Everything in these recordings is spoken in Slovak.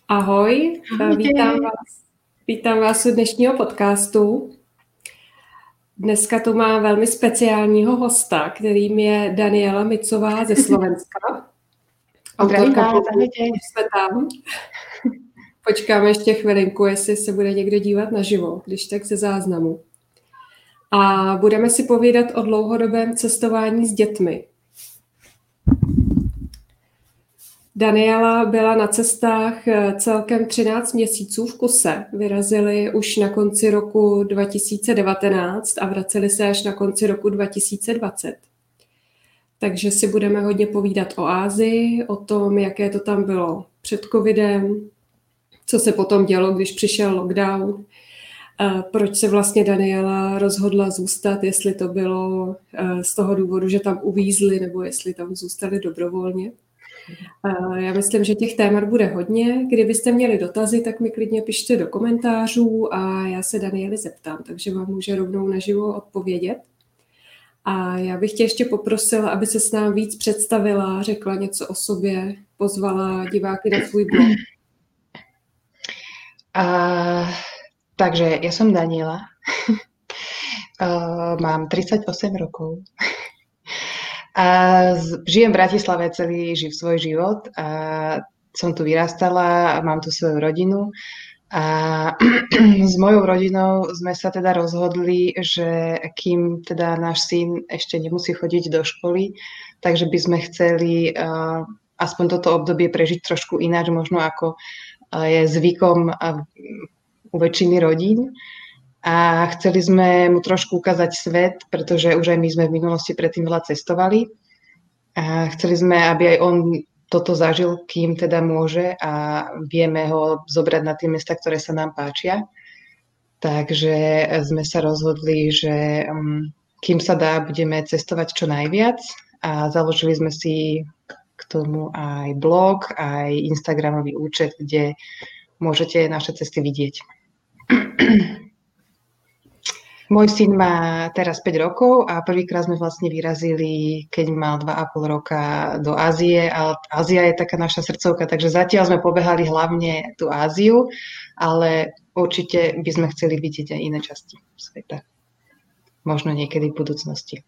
Ahoj, Ahojte. vítám vás u dnešního podcastu. Dneska tu má velmi speciálního hosta, kterým je Daniela Micová ze Slovenska. Zdravím Autorka vás, blogu ahojte. Už jsme tam. Počkáme ještě chvilinku, jestli se bude někdo dívat naživo, když tak ze záznamu. A budeme si povídat o dlouhodobém cestování s dětmi. Daniela byla na cestách celkem 13 měsíců v kuse. Vyrazili už na konci roku 2019 a vraceli se až na konci roku 2020. Takže si budeme hodně povídat o Asii, o tom, jaké to tam bylo před covidem, co se potom dělo, když přišel lockdown, proč se vlastně Daniela rozhodla zůstat, jestli to bylo z toho důvodu, že tam uvízli, nebo jestli tam zůstali dobrovolně. Já myslím, že těch témat bude hodně. Kdybyste měli dotazy, tak mi klidně pište do komentářů a já se Daniely zeptám, takže vám může rovnou naživo odpovědět. A já bych tě ještě poprosila, aby se s námi víc představila, řekla něco o sobě, pozvala diváky na svůj blog. Takže ja som Daniela. Mám 38 rokov. Žijem v Bratislave celý svoj život. Som tu vyrastala, mám tu svoju rodinu. A s mojou rodinou sme sa teda rozhodli, že kým teda náš syn ešte nemusí chodiť do školy, takže by sme chceli aspoň toto obdobie prežiť trošku ináč, možno ako je zvykom u väčšiny rodín. A chceli sme mu trošku ukázať svet, pretože už aj my sme v minulosti predtým veľa cestovali. A chceli sme, aby aj on toto zažil, kým teda môže a vieme ho zobrať na tie miesta, ktoré sa nám páčia. Takže sme sa rozhodli, že kým sa dá, budeme cestovať čo najviac a založili sme si k tomu aj blog, aj Instagramový účet, kde môžete naše cesty vidieť. Môj syn má teraz 5 rokov a prvýkrát sme vlastne vyrazili, keď mal 2,5 roka do Ázie. A Ázia je taká naša srdcovka, takže zatiaľ sme pobehali hlavne tú Áziu, ale určite by sme chceli vidieť aj iné časti sveta. Možno niekedy v budúcnosti.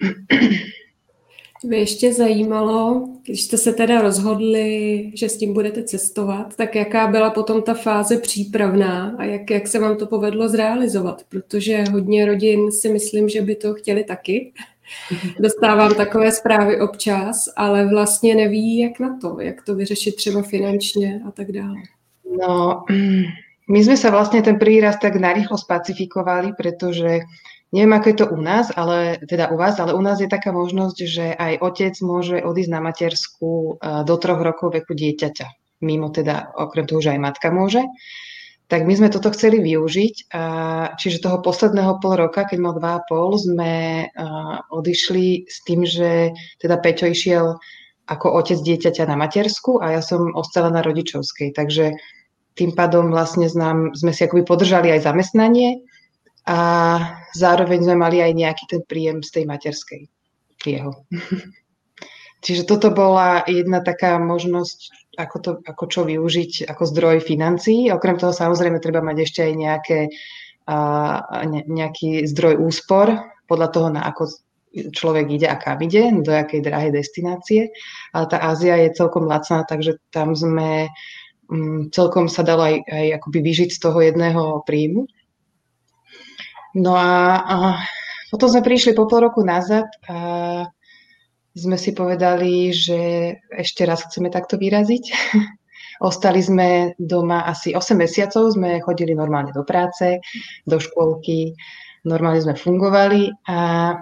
Mě ještě zajímalo, když jste se teda rozhodli, že s tím budete cestovat, tak jaká byla potom ta fáze přípravná a jak se vám to povedlo zrealizovat? Protože hodně rodin si myslím, že by to chtěli taky. Dostávám takové zprávy občas, ale vlastně neví, jak to vyřešit třeba finančně a tak dále. No, my sme sa vlastne ten prvý raz tak narýchlo spacifikovali, pretože neviem, ako je to u nás, ale teda u vás, ale u nás je taká možnosť, že aj otec môže odísť na matersku do 3 rokov veku dieťaťa. Mimo teda, okrem toho, že aj matka môže. Tak my sme toto chceli využiť. Čiže toho posledného pol roka, keď mal 2,5, sme odišli s tým, že teda Peťo išiel ako otec dieťaťa na matersku a ja som ostala na rodičovskej. Takže tým pádom vlastne sme si akoby podržali aj zamestnanie a zároveň sme mali aj nejaký ten príjem z tej materskej jeho. Čiže toto bola jedna taká možnosť, ako čo využiť ako zdroj financií. Okrem toho samozrejme treba mať ešte aj nejaký zdroj úspor podľa toho, na ako človek ide a kam ide, do jakej drahej destinácie. Ale tá Ázia je celkom lacná, takže tam sme celkom sa dalo aj akoby vyžiť z toho jedného príjmu. No a potom sme prišli po pol roku nazad a sme si povedali, že ešte raz chceme takto vyraziť. Ostali sme doma asi 8 mesiacov, sme chodili normálne do práce, do škôlky, normálne sme fungovali a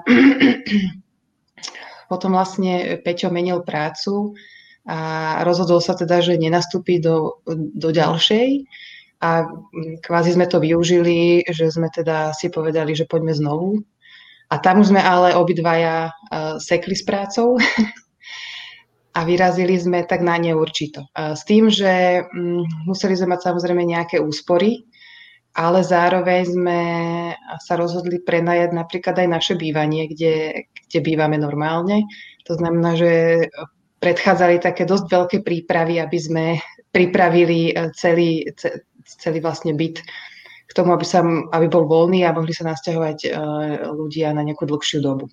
potom vlastne Peťo menil prácu a rozhodol sa teda, že nenastúpi do ďalšej a kvázi sme to využili, že sme teda si povedali, že poďme znovu. A tam už sme ale obidvaja sekli s prácou a vyrazili sme tak na neurčito. S tým, že museli sme mať samozrejme nejaké úspory, ale zároveň sme sa rozhodli prenajať napríklad aj naše bývanie, kde bývame normálne. To znamená, že predchádzali také dosť veľké prípravy, aby sme pripravili celý vlastne byt k tomu, aby bol voľný a mohli sa nasťahovať ľudia na nejakú dlhšiu dobu.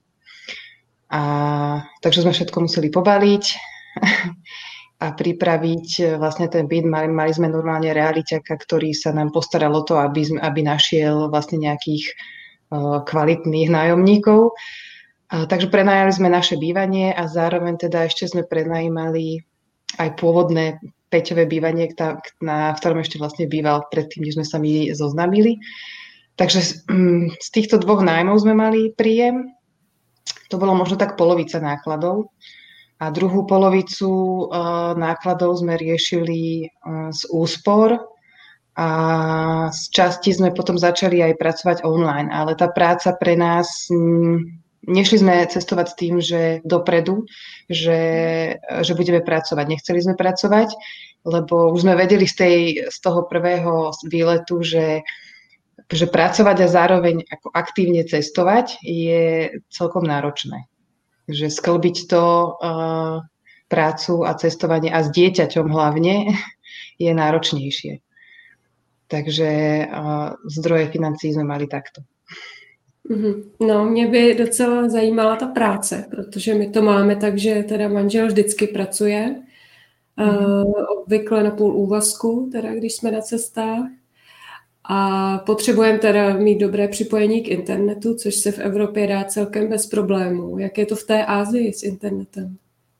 Takže sme všetko museli pobaliť a pripraviť vlastne ten byt. Mali sme normálne realiťaka, ktorý sa nám postaral o to, aby našiel vlastne nejakých kvalitných nájomníkov. Takže prenajali sme naše bývanie a zároveň teda ešte sme prenajímali aj pôvodné Peťové bývanie, v ktorom ešte vlastne býval predtým, než sme sa my zoznamili. Takže z týchto dvoch nájmov sme mali príjem. To bolo možno tak polovica nákladov. A druhú polovicu nákladov sme riešili z úspor a z časti sme potom začali aj pracovať online. Ale tá práca pre nás, nešli sme cestovať s tým, že dopredu, že budeme pracovať. Nechceli sme pracovať, lebo už sme vedeli z toho prvého výletu, že pracovať a zároveň ako aktívne cestovať je celkom náročné. Že sklbiť to prácu a cestovanie a s dieťaťom hlavne je náročnejšie. Takže zdroje financií sme mali takto. No, mě by docela zajímala ta práce, protože my to máme tak, že teda manžel vždycky pracuje, obvykle na půl úvazku, teda když jsme na cestách. A potřebujeme teda mít dobré připojení k internetu, což se v Evropě dá celkem bez problémů. Jak je to v té Ázii s internetem?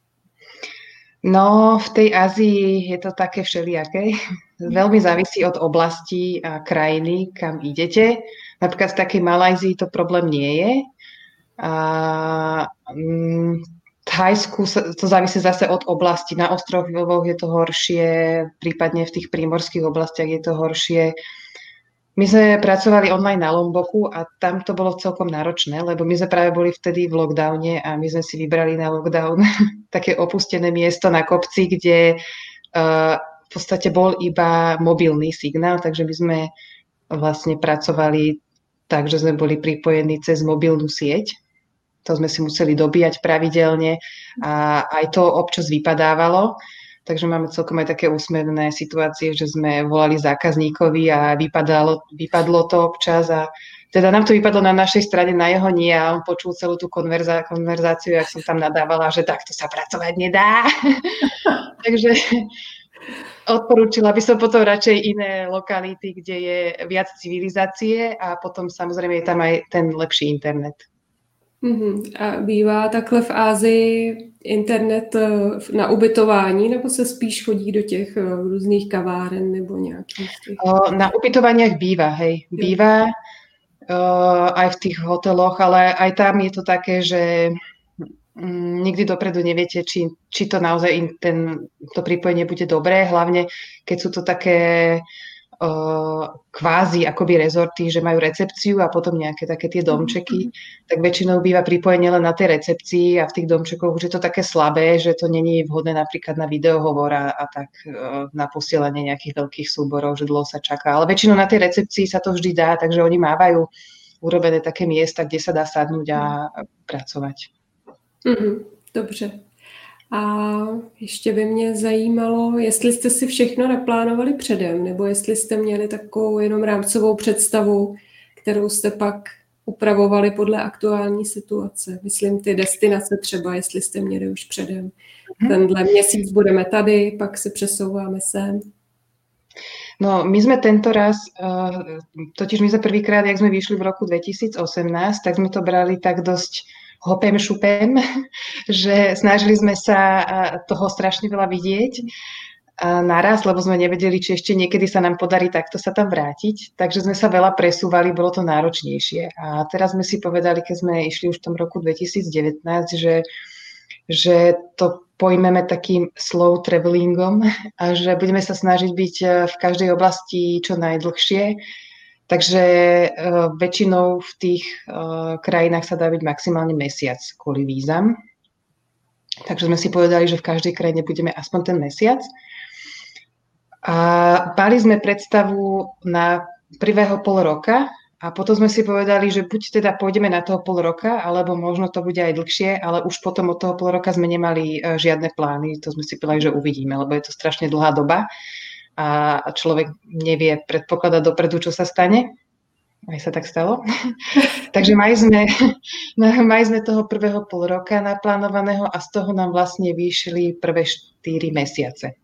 No, v tej Ázii je to také všelijaké. Veľmi závisí od oblasti a krajiny, kam idete. Napríklad v takej Malajzii to problém nie je. V Thajsku to závisí zase od oblasti. Na ostrovoch je to horšie, prípadne v tých prímorských oblastiach je to horšie. My sme pracovali online na Lomboku a tam to bolo celkom náročné, lebo my sme práve boli vtedy v lockdowne a my sme si vybrali na lockdown také opustené miesto na kopci, kde v podstate bol iba mobilný signál, takže my sme vlastne pracovali tak, že sme boli pripojení cez mobilnú sieť. To sme si museli dobíjať pravidelne a aj to občas vypadávalo. Takže máme celkom aj také úsmevné situácie, že sme volali zákazníkovi a vypadlo to občas a teda nám to vypadlo na našej strane, na jeho nie a on počul celú tú konverzáciu, jak som tam nadávala, že takto sa pracovať nedá. Takže odporúčila by som potom radšej iné lokality, kde je viac civilizácie a potom samozrejme je tam aj ten lepší internet. A bývá takhle v Ázii internet na ubytování, nebo se spíš chodí do těch různých kaváren nebo nějakých těch? Na ubytovaniach býva, hej. Býva aj v tých hoteloch, ale aj tam je to také, že nikdy dopredu neviete, či to naozaj to pripojenie bude dobré, hlavne keď sú to také kvázi akoby rezorty, že majú recepciu a potom nejaké také tie domčeky, tak väčšinou býva pripojenie len na tej recepcii a v tých domčekoch už je to také slabé, že to není vhodné napríklad na videohovor a tak na posielanie nejakých veľkých súborov, že dlho sa čaká. Ale väčšinou na tej recepcii sa to vždy dá, takže oni mávajú urobené také miesta, kde sa dá sadnúť a pracovať. Dobře. A ještě by mě zajímalo, jestli jste si všechno naplánovali předem, nebo jestli jste měli takovou jenom rámcovou představu, kterou jste pak upravovali podle aktuální situace. Myslím ty destinace třeba, jestli jste měli už předem. Tenhle měsíc budeme tady, pak se přesouváme sem. No, my sme tento raz, totiž my sme prvýkrát, jak sme vyšli v roku 2018, tak sme to brali tak dosť hopem šupem, že snažili sme sa toho strašne veľa vidieť naraz, lebo sme nevedeli, či ešte niekedy sa nám podarí takto sa tam vrátiť. Takže sme sa veľa presúvali, bolo to náročnejšie. A teraz sme si povedali, keď sme išli už v tom roku 2019, že to pojmeme takým slow travelingom a že budeme sa snažiť byť v každej oblasti čo najdlhšie. Takže väčšinou v tých krajinách sa dá byť maximálne mesiac kvôli vízam. Takže sme si povedali, že v každej krajine budeme aspoň ten mesiac. A mali sme predstavu na prvého pol roka, A potom sme si povedali, že buď teda pôjdeme na toho pol roka, alebo možno to bude aj dlhšie, ale už potom od toho pol roka sme nemali žiadne plány. To sme si povedali, že uvidíme, lebo je to strašne dlhá doba a človek nevie predpokladať dopredu, čo sa stane. Aj sa tak stalo. Takže mali sme toho prvého pol roka naplánovaného a z toho nám vlastne vyšli prvé 4 mesiace.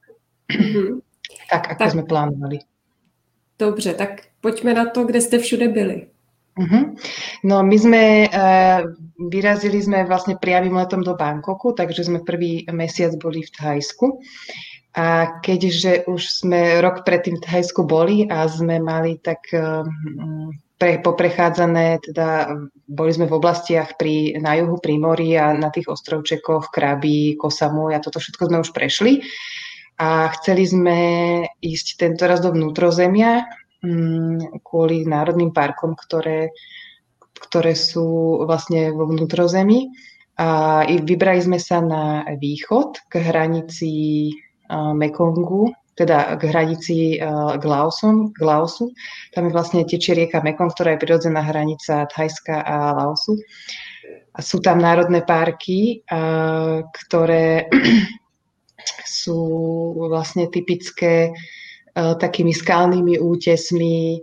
Tak, ako sme plánovali. Dobře, tak pojďme na to, kde jste všude byli. No my vyrazili sme vlastne priamym letom do Bangkoku, takže sme prvý mesiac boli v Thajsku. A keďže už sme rok predtým v Thajsku boli a sme mali tak poprechádzane, teda boli sme v oblastiach na juhu, pri mori a na tých ostrovčekoch, Krabi, Koh Samui a toto všetko sme už prešli. A chceli sme ísť tentoraz do vnútrozemia kvôli národným parkom, ktoré sú vlastne vo vnútrozemí. A vybrali sme sa na východ k hranici Mekongu, teda k hranici k Laosu. Tam je vlastne tečie rieka Mekong, ktorá je prirodzená hranica Thajska a Laosu. A sú tam národné parky, ktoré sú vlastne typické takými skalnými útesmi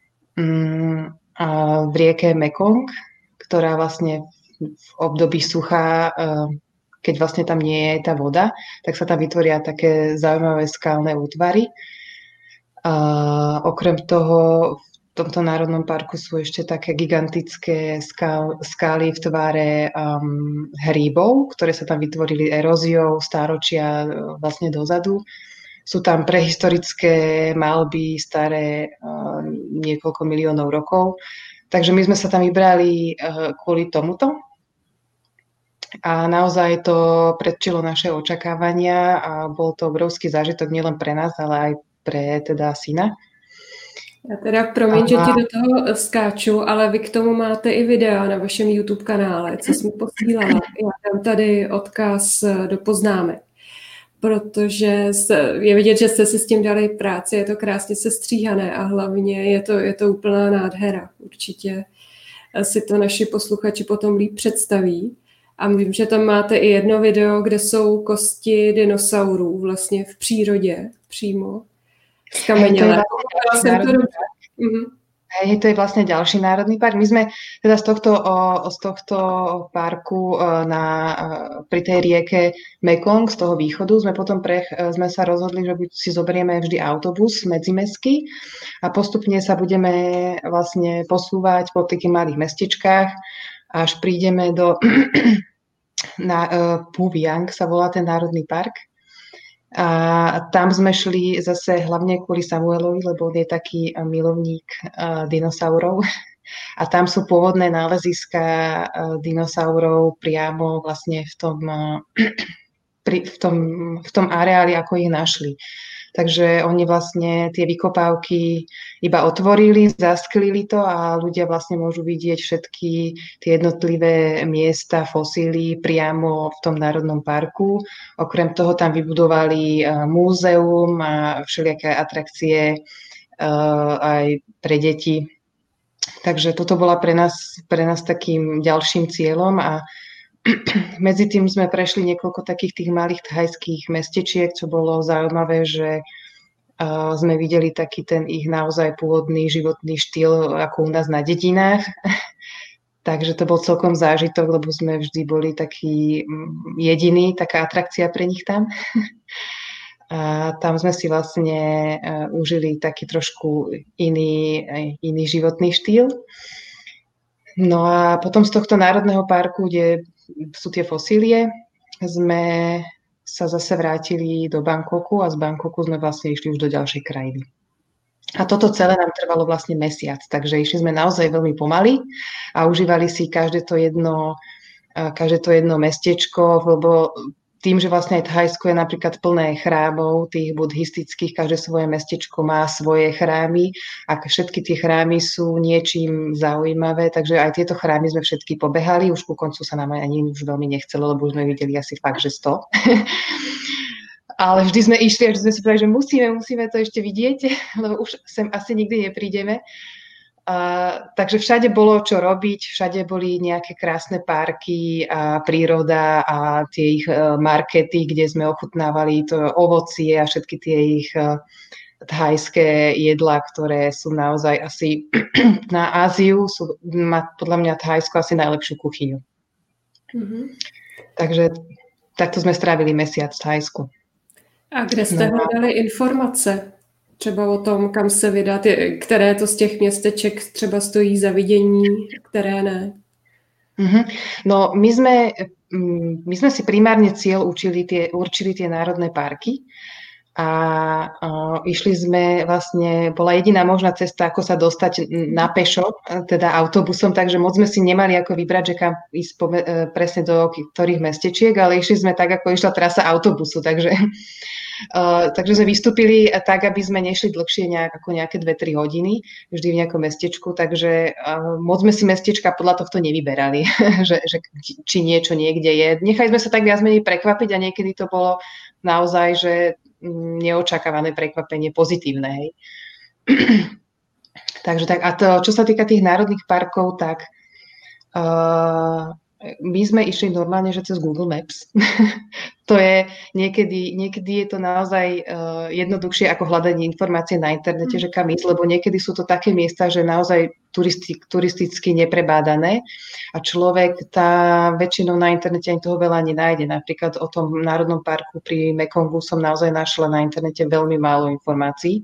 v rieke Mekong, ktorá vlastne v období sucha, keď vlastne tam nie je tá voda, tak sa tam vytvoria také zaujímavé skalné útvary. Okrem toho v tomto národnom parku sú ešte také gigantické skály v tvare hríbov, ktoré sa tam vytvorili eróziou stáročia vlastne dozadu. Sú tam prehistorické malby staré niekoľko miliónov rokov. Takže my sme sa tam vybrali kvôli tomuto. A naozaj to predčilo naše očakávania a bol to obrovský zážitok nielen pre nás, ale aj pre teda syna. Já teda promiň, že ti do toho skáču, ale vy k tomu máte i videa na vašem YouTube kanále, co jsem posílala. Já dám tady odkaz do poznámek, protože je vidět, že jste si s tím dali práci, je to krásně sestříhané a hlavně je to úplná nádhera. Určitě si to naši posluchači potom líp představí. A vím, že tam máte i jedno video, kde jsou kosti dinosaurů vlastně v přírodě přímo skamenělé. To je vlastne ďalší národný park. My sme teda z tohto parku pri tej rieke Mekong, z toho východu, sme sa rozhodli, že si zoberieme vždy autobus medzimestský a postupne sa budeme vlastne posúvať po takých malých mestečkách, až prídeme na Phuviang sa volá ten národný park. A tam sme šli zase hlavne kvôli Samuelovi, lebo on je taký milovník dinosaurov. A tam sú pôvodné náleziska dinosaurov priamo vlastne v tom areáli, ako ich našli. Takže oni vlastne tie vykopávky iba otvorili, zasklili to a ľudia vlastne môžu vidieť všetky tie jednotlivé miesta, fosíly priamo v tom národnom parku. Okrem toho tam vybudovali múzeum a všelijaké atrakcie aj pre deti. Takže toto bola pre nás takým ďalším cieľom a medzi tým sme prešli niekoľko takých tých malých thajských mestečiek, čo bolo zaujímavé, že sme videli taký ten ich naozaj pôvodný životný štýl, ako u nás na dedinách. Takže to bol celkom zážitok, lebo sme vždy boli takí jediní, taká atrakcia pre nich tam. A tam sme si vlastne užili taký trošku iný životný štýl. No a potom z tohto národného parku, kde sú tie fosílie, sme sa zase vrátili do Bangkoku a z Bangkoku sme vlastne išli už do ďalšej krajiny. A toto celé nám trvalo vlastne mesiac, takže išli sme naozaj veľmi pomaly a užívali si každé to jedno mestečko, lebo tým, že vlastne aj Thajsko je napríklad plné chrámov, tých buddhistických, každé svoje mestečko má svoje chrámy a všetky tie chrámy sú niečím zaujímavé, takže aj tieto chrámy sme všetky pobehali, už ku koncu sa nám ani už veľmi nechcelo, lebo už sme videli asi fakt, že 100. Ale vždy sme išli a vždy sme si povedali, že musíme to ešte vidieť, lebo už sem asi nikdy neprídeme. Takže všade bolo čo robiť, všade boli nejaké krásne parky a príroda a tie ich markety, kde sme ochutnávali to ovocie a všetky tie ich thajské jedlá, ktoré sú naozaj asi na Áziu, má podľa mňa Thajsko asi najlepšiu kuchyňu. Mm-hmm. Takže takto sme strávili mesiac v Thajsku. A kde jste hledali informace? Třeba o tom, kam se vydat, které to z těch městeček třeba stojí za vidění, které ne? No, my sme si primárne cieľ určili tie národné parky a išli sme vlastne, bola jediná možná cesta, ako sa dostať na pešo, teda autobusom, takže moc sme si nemali ako vybrať, že kam ísť presne do ktorých mestečiek, ale išli sme tak, ako išla trasa autobusu, takže sme vystúpili tak, aby sme nešli dlhšie ako nejaké 2-3 hodiny, vždy v nejakom mestečku, takže moc sme si mestečka podľa tohto nevyberali, že či niečo niekde je. Nechali sme sa tak viac menej prekvapiť a niekedy to bolo naozaj, že neočakávané prekvapenie pozitívne. Hej. Takže tak, a to, čo sa týka tých národných parkov, tak my sme išli normálne, že cez Google Maps. To je, niekedy je to naozaj jednoduchšie ako hľadanie informácie na internete, že kam ísť, lebo niekedy sú to také miesta, že naozaj turisticky neprebádané a človek väčšinou na internete ani toho veľa nenájde. Napríklad o tom národnom parku pri Mekongu som naozaj našla na internete veľmi málo informácií.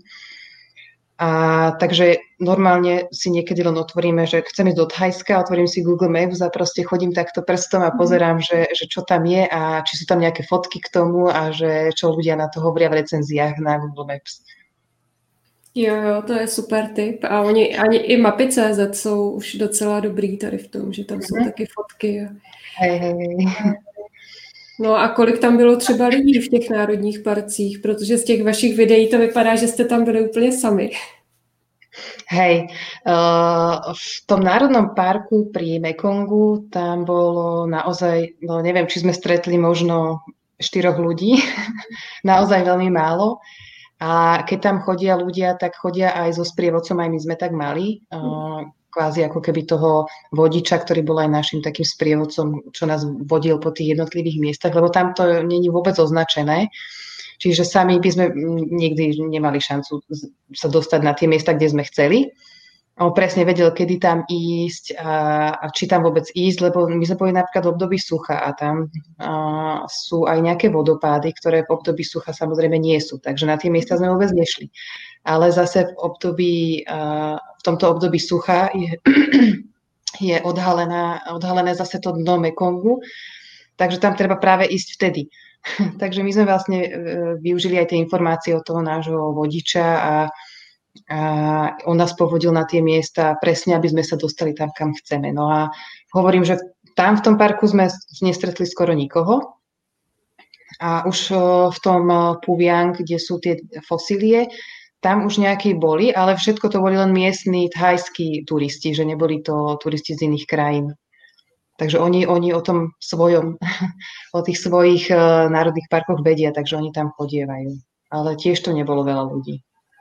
Takže normálne si niekedy len otvoríme, že chcem ísť do Thajska, otvorím si Google Maps a proste chodím takto prstom a pozerám, že čo tam je a či sú tam nejaké fotky k tomu a že čo ľudia na to hovoria v recenziách na Google Maps. Jo, to je super tip. A oni ani i mapy.cz jsou už docela dobrý tady v tom, že tam jsou taky fotky. Hej. No a kolik tam bylo třeba lidí v těch národních parcích? Protože z těch vašich videí to vypadá, že jste tam byli úplně sami. Hej, v tom národnom parku pri Mekongu tam bolo naozaj, no neviem, či sme stretli možno 4 ľudí, naozaj veľmi málo. A keď tam chodia ľudia, tak chodia aj so sprievodcom, aj my sme tak mali. Kvázi ako keby toho vodiča, ktorý bol aj našim takým sprievodcom, čo nás vodil po tých jednotlivých miestach, lebo tam to nie je vôbec označené. Čiže sami by sme nikdy nemali šancu sa dostať na tie miesta, kde sme chceli. On presne vedel, kedy tam ísť a či tam vôbec ísť, lebo my sme boli napríklad v období sucha a tam sú aj nejaké vodopády, ktoré v období sucha samozrejme nie sú. Takže na tie miesta sme vôbec nešli. Ale zase v tomto období sucha je odhalené zase to dno Mekongu, takže tam treba práve ísť vtedy. Takže my sme vlastne využili aj tie informácie od toho nášho vodiča a on nás povodil na tie miesta presne, aby sme sa dostali tam, kam chceme. No a hovorím, že tam v tom parku sme nestretli skoro nikoho a už v tom Phuviang, kde sú tie fosílie, tam už nejakí boli, ale všetko to boli len miestni thajskí turisti, že neboli to turisti z iných krajín. Takže oni o tom svojom, o tých svojich národných parkoch vedia, takže oni tam chodievajú. Ale tiež to nebolo veľa ľudí.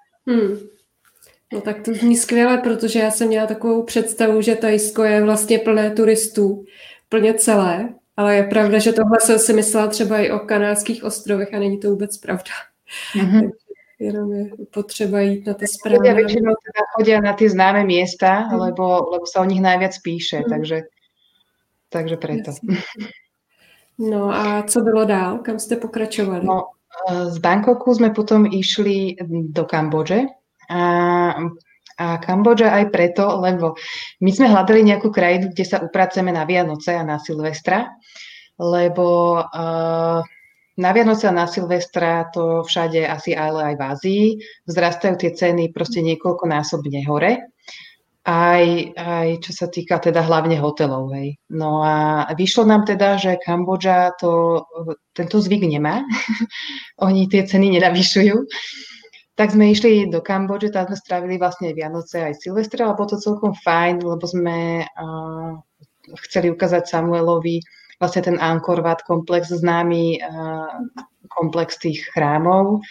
No tak to zní skvěle, protože já jsem měla takovou představu, že Thajsko je vlastně plné turistů, plně celé, ale je pravda, že tohle jsem si myslela třeba i o Kanárských ostrovech a není to vůbec pravda. Takže jenom je potřeba jít na ty správné. Ľudia väčšinou teda chodia na tie známe miesta, lebo sa o nich najviac píše, takže preto. No a co bylo dál? Kam jste pokračovali? No, z Bangkoku sme potom išli do Kambodže a Kambodža aj preto, lebo my sme hľadali nejakú krajinu, kde sa upraceme na Vianoce a na Silvestra, lebo na Vianoce a na Silvestra to všade asi ale aj v Ázii vzrastajú tie ceny proste niekoľkonásobne hore. Aj čo sa týka teda hlavne hotelov. Hej. No a vyšlo nám teda, že Kambodža tento zvyk nemá. Oni tie ceny nenavyšujú. Tak sme išli do Kambodže, tam sme strávili vlastne Vianoce aj Silvestra, ale bolo to celkom fajn, lebo sme chceli ukázať Samuelovi vlastne ten Angkor Wat komplex, známy komplex tých chrámov.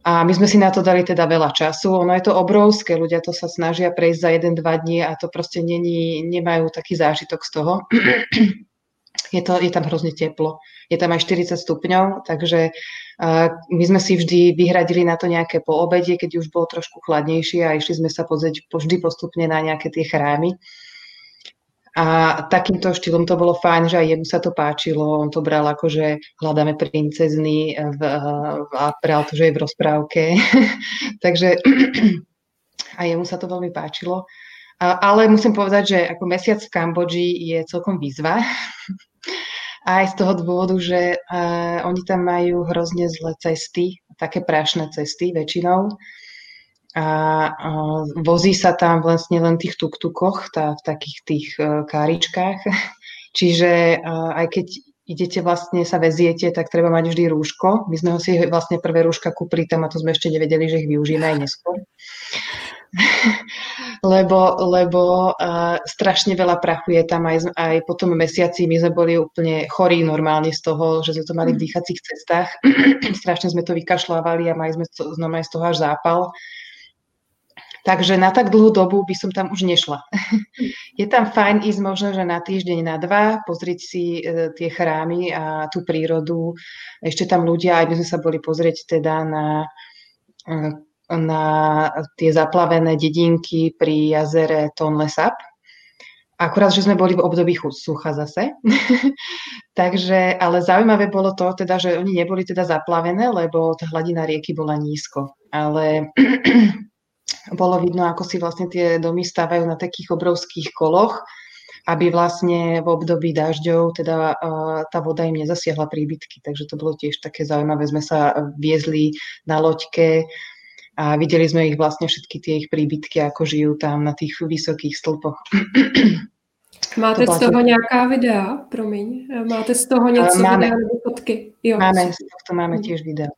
A my sme si na to dali teda veľa času. Ono je to obrovské, ľudia to sa snažia prejsť za 1-2 dní a to proste nemajú taký zážitok z toho. Je tam hrozne teplo. Je tam aj 40 stupňov, takže my sme si vždy vyhradili na to nejaké po obede, keď už bolo trošku chladnejšie a išli sme sa pozrieť vždy postupne na nejaké tie chrámy. A takýmto štýlom to bolo fajn, že aj jemu sa to páčilo. On to bral ako, že hľadáme princezny a bral to, že je v rozprávke. Takže aj jemu sa to veľmi páčilo. Ale musím povedať, že ako mesiac v Kambodži je celkom výzva. Aj z toho dôvodu, že oni tam majú hrozne zlé cesty, také prašné cesty väčšinou. A vozí sa tam vlastne len v tých tuk-tukoch, v takých tých káričkách. Čiže aj keď idete vlastne sa veziete, tak treba mať vždy rúško. My sme ho si vlastne prvé rúška kúpili tam a to sme ešte nevedeli, že ich využijeme aj neskôr. lebo strašne veľa prachu je tam aj po tom mesiaci. My sme boli úplne chorí normálne z toho, že sme to mali v dýchacích cestách. Strašne sme to vykašľávali a mali sme znamená z toho až zápal. Takže na tak dlhú dobu by som tam už nešla. Je tam fajn ísť možno, že na týždeň, na 2, pozrieť si tie chrámy a tú prírodu. Ešte tam ľudia, aj my sme sa boli pozrieť teda na tie zaplavené dedinky pri jazere Tonle Sap. Akurát, že sme boli v období sucha zase. Takže, ale zaujímavé bolo to, teda, že oni neboli teda zaplavené, lebo tá hladina rieky bola nízko. Ale bolo vidno, ako si vlastne tie domy stavajú na takých obrovských koloch, aby vlastne v období dažďov teda tá voda im nezasiahla príbytky. Takže to bolo tiež také zaujímavé. Sme sa viezli na loďke a videli sme ich vlastne všetky tie ich príbytky, ako žijú tam na tých vysokých stĺpoch. Máte z toho nějaká videa? Promiň. Máte z toho něco videa nebo fotky? Jo. Máme, z tohto máme tiež videa.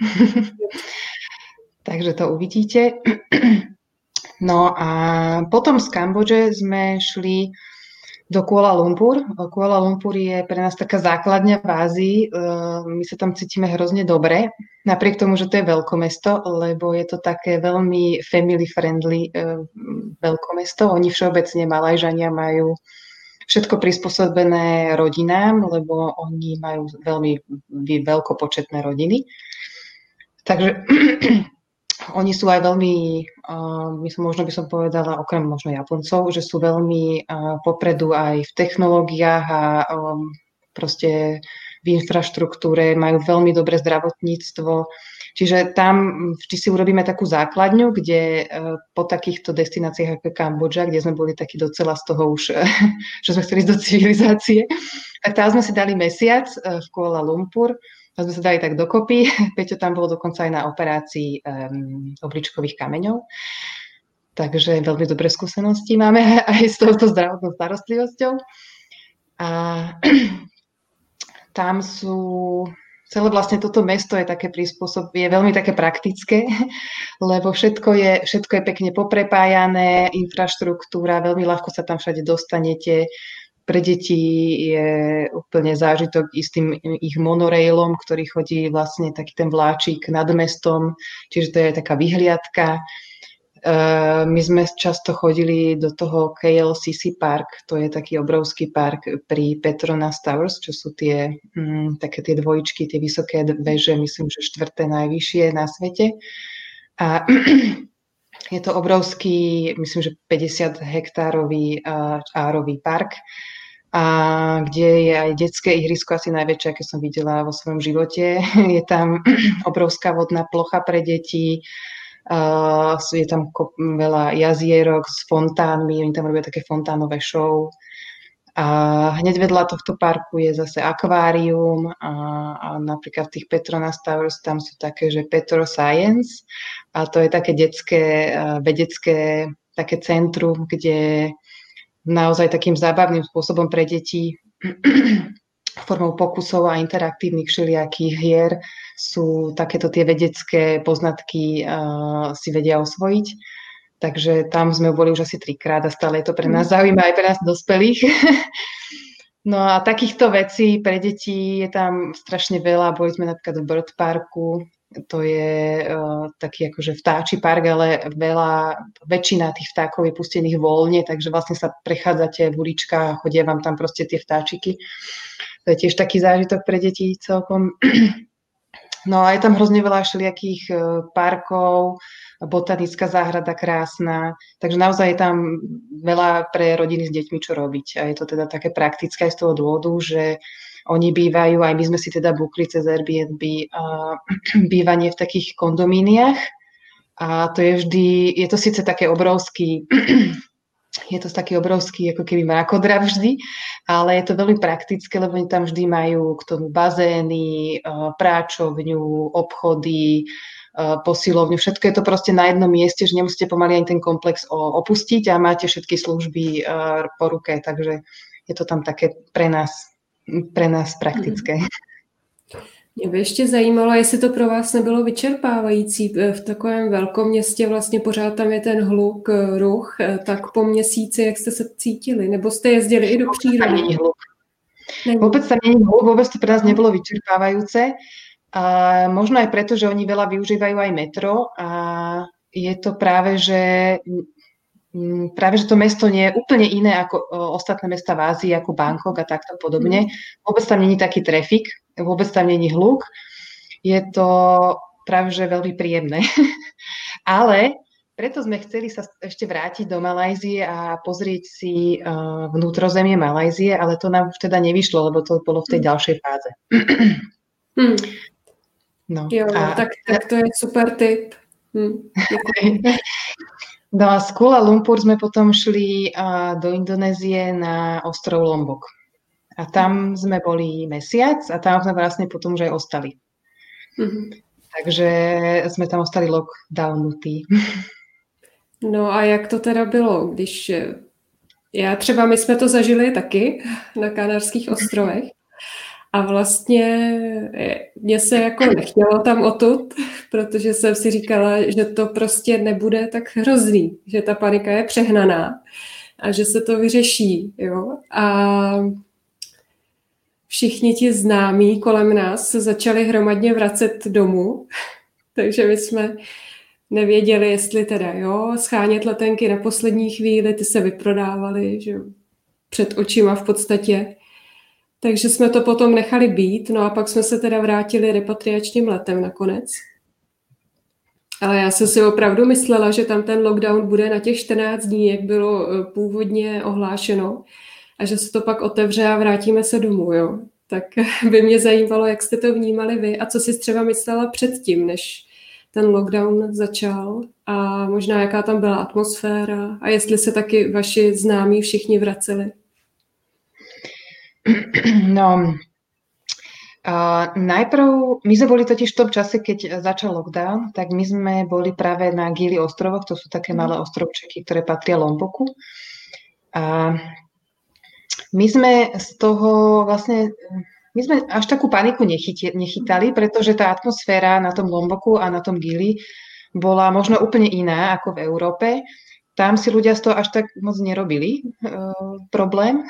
Takže to uvidíte. No a potom z Kambodže sme šli do Kuala Lumpur. Kuala Lumpur je pre nás taká základňa v Ázii. My sa tam cítime hrozne dobre, napriek tomu, že to je veľkomesto, lebo je to také veľmi family friendly veľkomesto. Oni všeobecne Malajžania majú všetko prispôsobené rodinám, lebo oni majú veľmi veľkopočetné rodiny. Takže oni sú aj veľmi, možno by som povedala, okrem možno Japoncov, že sú veľmi popredu aj v technológiách a proste v infraštruktúre, majú veľmi dobré zdravotníctvo. Čiže tam vždy si urobíme takú základňu, kde po takýchto destináciách ako Kambodža, kde sme boli takí docela z toho už, že sme chceli ísť do civilizácie, tak tam sme si dali mesiac v Kuala Lumpur. A sme sa dali tak dokopy. Peťo tam bol dokonca aj na operácii obličkových kameňov. Takže veľmi dobré skúsenosti máme aj s touto zdravotnou starostlivosťou. A tam sú... Celé vlastne toto mesto je také je veľmi také praktické, lebo všetko je pekne poprepájané, infraštruktúra, veľmi ľahko sa tam všade dostanete. Pre deti je úplne zážitok i s tým ich monorailom, ktorý chodí vlastne taký ten vláčik nad mestom, čiže to je taká vyhliadka. My sme často chodili do toho KLCC Park, to je taký obrovský park pri Petronas Towers, čo sú také tie dvojičky, tie vysoké veže, myslím, že 4. najvyššie na svete. A je to obrovský, myslím, že 50 hektárový árový park, a kde je aj detské ihrisko asi najväčšie, aké som videla vo svojom živote. Je tam obrovská vodná plocha pre deti, je tam veľa jazierok s fontánmi, oni tam robia také fontánové show. A hneď vedľa tohto parku je zase akvárium a napríklad v tých Petronas Towers tam sú také, že Petro Science a to je také detské, vedecké také centrum, kde naozaj takým zábavným spôsobom pre deti formou pokusov a interaktívnych všelijakých hier sú takéto tie vedecké poznatky si vedia osvojiť. Takže tam sme boli už asi 3-krát a stále je to pre nás zaujímavé, aj pre nás dospelých. No a takýchto vecí pre deti je tam strašne veľa. Boli sme napríklad v Bird Parku, to je taký akože vtáči park, ale väčšina tých vtákov je pustených voľne, takže vlastne sa prechádzate v uličkách a chodia vám tam proste tie vtáčiky. To je tiež taký zážitok pre deti celkom. No a je tam hrozne veľa všelijakých parkov, botanická záhrada krásna, takže naozaj je tam veľa pre rodiny s deťmi čo robiť. A je to teda také praktické aj z toho dôvodu, že oni bývajú, aj my sme si teda bukli cez Airbnb bývanie v takých kondomíniách a to je vždy, je to síce také obrovský je to taký obrovský ako keby mrakodrap vždy, ale je to veľmi praktické, lebo oni tam vždy majú k tomu bazény, práčovňu, obchody, posilovňu, všetko je to proste na jednom mieste, že nemusíte pomaly ani ten komplex opustiť a máte všetky služby po ruke, takže je to tam také pre nás praktické. Mě by ještě zajímalo, jestli to pro vás nebylo vyčerpávající v takovém velkom městě, vlastně pořád tam je ten hluk, ruch, tak po měsíci, jak jste se cítili? Nebo jste jezdili i do přírody? Vôbec tam nie je hluk, vôbec to pre nás nebolo vyčerpávajúce. A možno aj preto, že oni veľa využívajú aj metro a je to práve, že to mesto nie je úplne iné ako ostatné mesta v Ázii, ako Bangkok a takto podobne. Vôbec tam nie je taký trafik, vôbec tam nie je hluk. Je to práve, že veľmi príjemné. Ale preto sme chceli sa ešte vrátiť do Malajzie a pozrieť si vnútrozemie Malajzie, ale to nám teda nevyšlo, lebo to bolo v tej ďalšej fáze. No. Jo, tak to je super tip. No a z Kuala Lumpur sme potom šli do Indonézie na ostrov Lombok. A tam sme boli mesiac a tam sme vlastne potom už aj ostali. Takže sme tam ostali lockdownutí. No a jak to teda bylo, když my jsme to zažili taky na Kanárských ostrovech a vlastně mně se jako nechtělo tam odtud, protože jsem si říkala, že to prostě nebude tak hrozný, že ta panika je přehnaná a že se to vyřeší, jo. A všichni ti známí kolem nás se začali hromadně vracet domů, takže my jsme nevěděli, jestli teda schánět letenky na poslední chvíli, ty se vyprodávaly, že před očima v podstatě. Takže jsme to potom nechali být, no a pak jsme se teda vrátili repatriačním letem nakonec. Ale já jsem si opravdu myslela, že tam ten lockdown bude na těch 14 dní, jak bylo původně ohlášeno, a že se to pak otevře a vrátíme se domů, jo. Tak by mě zajímalo, jak jste to vnímali vy a co si třeba myslela předtím, než ten lockdown začal a možná jaká tam byla atmosféra a jestli se taky vaši známí všichni vraceli. No, najprv, my sme boli totiž v tom čase, keď začal lockdown, tak my sme boli práve na Gili ostrovoch, to sú také malé ostrovčeky, ktoré patria Lomboku. A my sme z toho vlastne, my sme až takú paniku nechytali, pretože tá atmosféra na tom Lomboku a na tom Gili bola možno úplne iná ako v Európe. Tam si ľudia z toho až tak moc nerobili problém.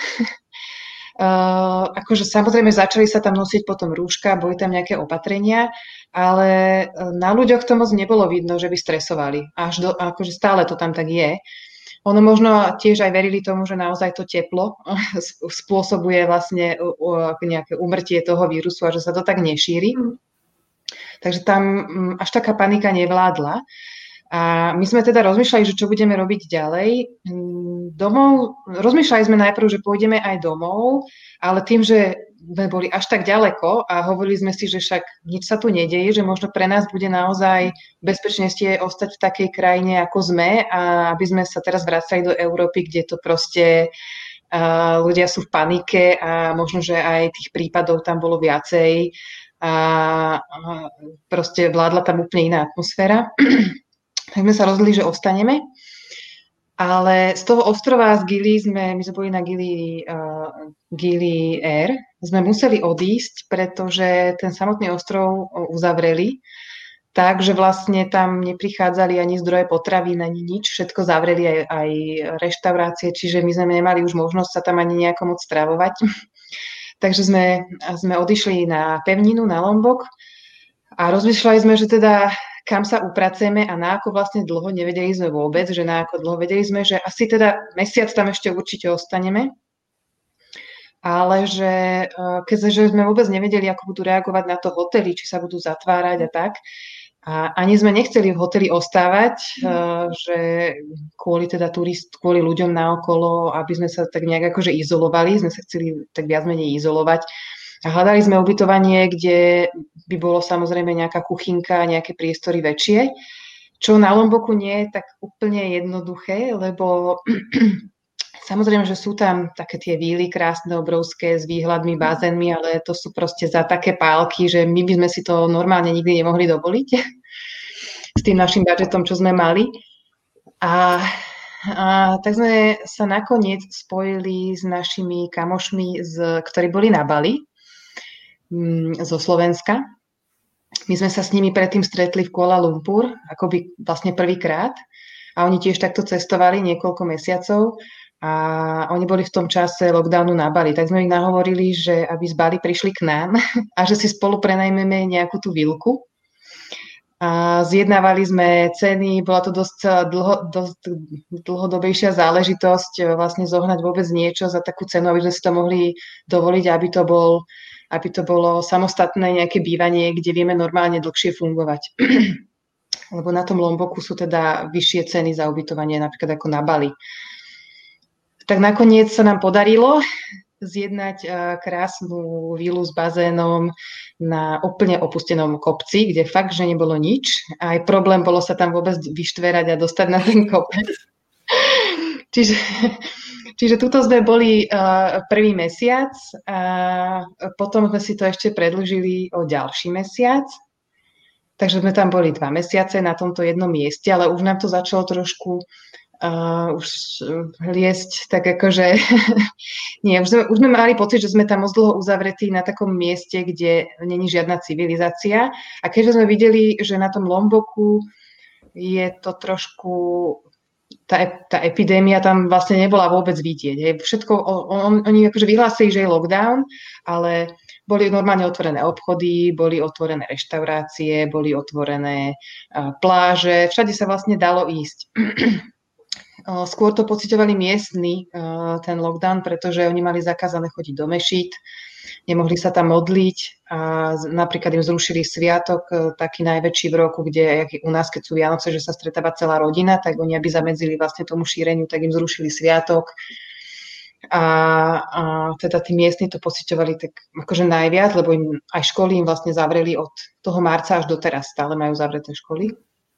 Akože samozrejme začali sa tam nosiť potom rúška, boli tam nejaké opatrenia, ale na ľuďoch to moc nebolo vidno, že by stresovali. Akože stále to tam tak je. Ono možno tiež aj verili tomu, že naozaj to teplo spôsobuje vlastne nejaké úmrtie toho vírusu a že sa to tak nešíri. Takže tam až taká panika nevládla. A my sme teda rozmýšľali, že čo budeme robiť ďalej. Rozmýšľali sme najprv, že pôjdeme aj domov, ale tým, že sme boli až tak ďaleko a hovorili sme si, že však nič sa tu nedeje, že možno pre nás bude naozaj bezpečnejšie ostať v takej krajine, ako sme, a aby sme sa teraz vracali do Európy, kde to proste ľudia sú v panike a možno, že aj tých prípadov tam bolo viacej a proste vládla tam úplne iná atmosféra. Tak sme sa rozhodli, že ostaneme. Ale z toho ostrova z Gili my sme boli na Gili Air, sme museli odísť, pretože ten samotný ostrov uzavreli, takže vlastne tam neprichádzali ani zdroje potravín, ani nič, všetko zavreli aj reštaurácie, čiže my sme nemali už možnosť sa tam ani nejako moc stravovať. Takže sme odišli na pevninu, na Lombok. A rozmýšľali sme, že teda kam sa upracujeme a na ako vlastne dlho, nevedeli sme vôbec, že na ako dlho, vedeli sme, že asi teda mesiac tam ešte určite ostaneme, ale že keďže sme vôbec nevedeli, ako budú reagovať na to hotely, či sa budú zatvárať a tak, a ani sme nechceli v hoteli ostávať, že kvôli teda kvôli ľuďom naokolo, aby sme sa tak nejak akože izolovali, sme sa chceli tak viac menej izolovať. A hľadali sme ubytovanie, kde by bolo samozrejme nejaká kuchynka, nejaké priestory väčšie, čo na Lomboku nie je tak úplne jednoduché, lebo samozrejme, že sú tam také tie víly krásne, obrovské, s výhľadmi, bazénmi, ale to sú proste za také pálky, že my by sme si to normálne nikdy nemohli dovoliť s tým našim budžetom, čo sme mali. A tak sme sa nakoniec spojili s našimi kamošmi, ktorí boli na Bali zo Slovenska. My sme sa s nimi predtým stretli v Kuala Lumpur, akoby vlastne prvýkrát. A oni tiež takto cestovali niekoľko mesiacov a oni boli v tom čase lockdownu na Bali. Tak sme ich nahovorili, že aby z Bali prišli k nám a že si spolu prenajmeme nejakú tú vilku. A zjednávali sme ceny, bola to dosť dlhodobejšia záležitosť vlastne zohnať vôbec niečo za takú cenu, aby sme si to mohli dovoliť, aby to bolo samostatné nejaké bývanie, kde vieme normálne dlhšie fungovať. Lebo na tom Lomboku sú teda vyššie ceny za ubytovanie, napríklad ako na Bali. Tak nakoniec sa nám podarilo zjednať krásnu vilu s bazénom na úplne opustenom kopci, kde fakt, že nebolo nič. A aj problém bolo sa tam vôbec vyštverať a dostať na ten kopec. Čiže tuto sme boli prvý mesiac a potom sme si to ešte predĺžili o ďalší mesiac. Takže sme tam boli 2 mesiace na tomto jednom mieste, ale už nám to začalo trošku už liesť tak akože nie, už sme mali pocit, že sme tam moc dlho uzavretí na takom mieste, kde není žiadna civilizácia. A keďže sme videli, že na tom Lomboku je to trošku tá epidémia tam vlastne nebola vôbec vidieť. Hej. Všetko, oni akože vyhlásili, že je lockdown, ale boli normálne otvorené obchody, boli otvorené reštaurácie, boli otvorené pláže, všade sa vlastne dalo ísť. Skôr to pociťovali miestni, ten lockdown, pretože oni mali zakázané chodiť do mešít, nemohli sa tam modliť a napríklad im zrušili sviatok, taký najväčší v roku, kde u nás, keď sú Vianoce, že sa stretáva celá rodina, tak oni, aby zamedzili vlastne tomu šíreniu, tak im zrušili sviatok. A teda tí miestni to pociťovali tak akože najviac, lebo im aj školy im vlastne zavreli od toho marca až doteraz, stále majú zavreté školy.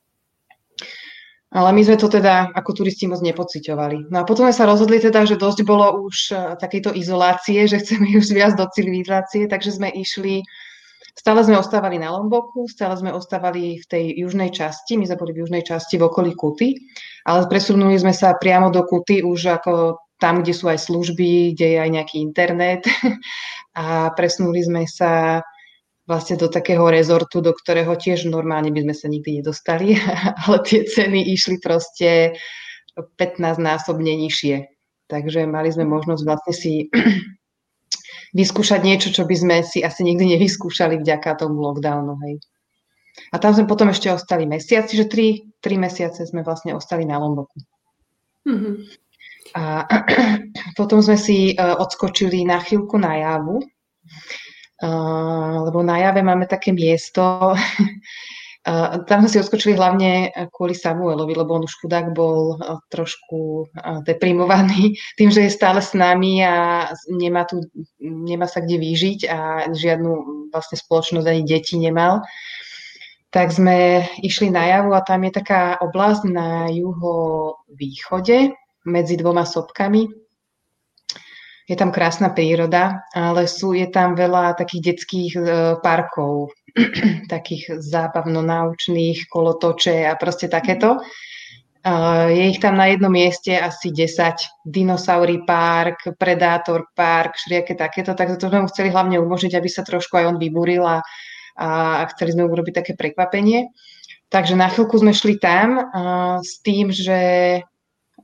Ale my sme to teda ako turisti moc nepociťovali. No a potom sme sa rozhodli teda, že dosť bolo už takejto izolácie, že chceme už viac do civilizácie, takže sme išli, stále sme ostávali na Lomboku, stále sme ostávali v tej južnej časti, my sme boli v južnej časti v okolí Kuty, ale presunuli sme sa priamo do Kuty už ako tam, kde sú aj služby, kde je aj nejaký internet a presunuli sme sa vlastne do takého rezortu, do ktorého tiež normálne by sme sa nikdy nedostali, ale tie ceny išli proste 15-násobne nižšie. Takže mali sme možnosť vlastne si vyskúšať niečo, čo by sme si asi nikdy nevyskúšali vďaka tomu lockdownu. Hej. A tam sme potom ešte ostali mesiac, čiže 3 mesiace sme vlastne ostali na Lomboku. Mm-hmm. A potom sme si odskočili na chvíľku na Javu, lebo na Jave máme také miesto, tam sme si odskočili hlavne kvôli Samuelovi, lebo on už chudák bol trošku deprimovaný tým, že je stále s nami a nemá sa kde vyžiť a žiadnu vlastne spoločnosť ani deti nemal. Tak sme išli na Javu a tam je taká oblasť na juhovýchode medzi 2 sopkami. Je tam krásna príroda, ale je tam veľa takých detských parkov, takých zábavno-naučných, kolotoče a proste takéto. Je ich tam na jednom mieste asi 10. Dinosauri park, Predátor park, všelijaké takéto. Tak to sme mu chceli hlavne umožniť, aby sa trošku aj on vybúril a chceli sme urobiť také prekvapenie. Takže na chvíľku sme šli tam s tým, že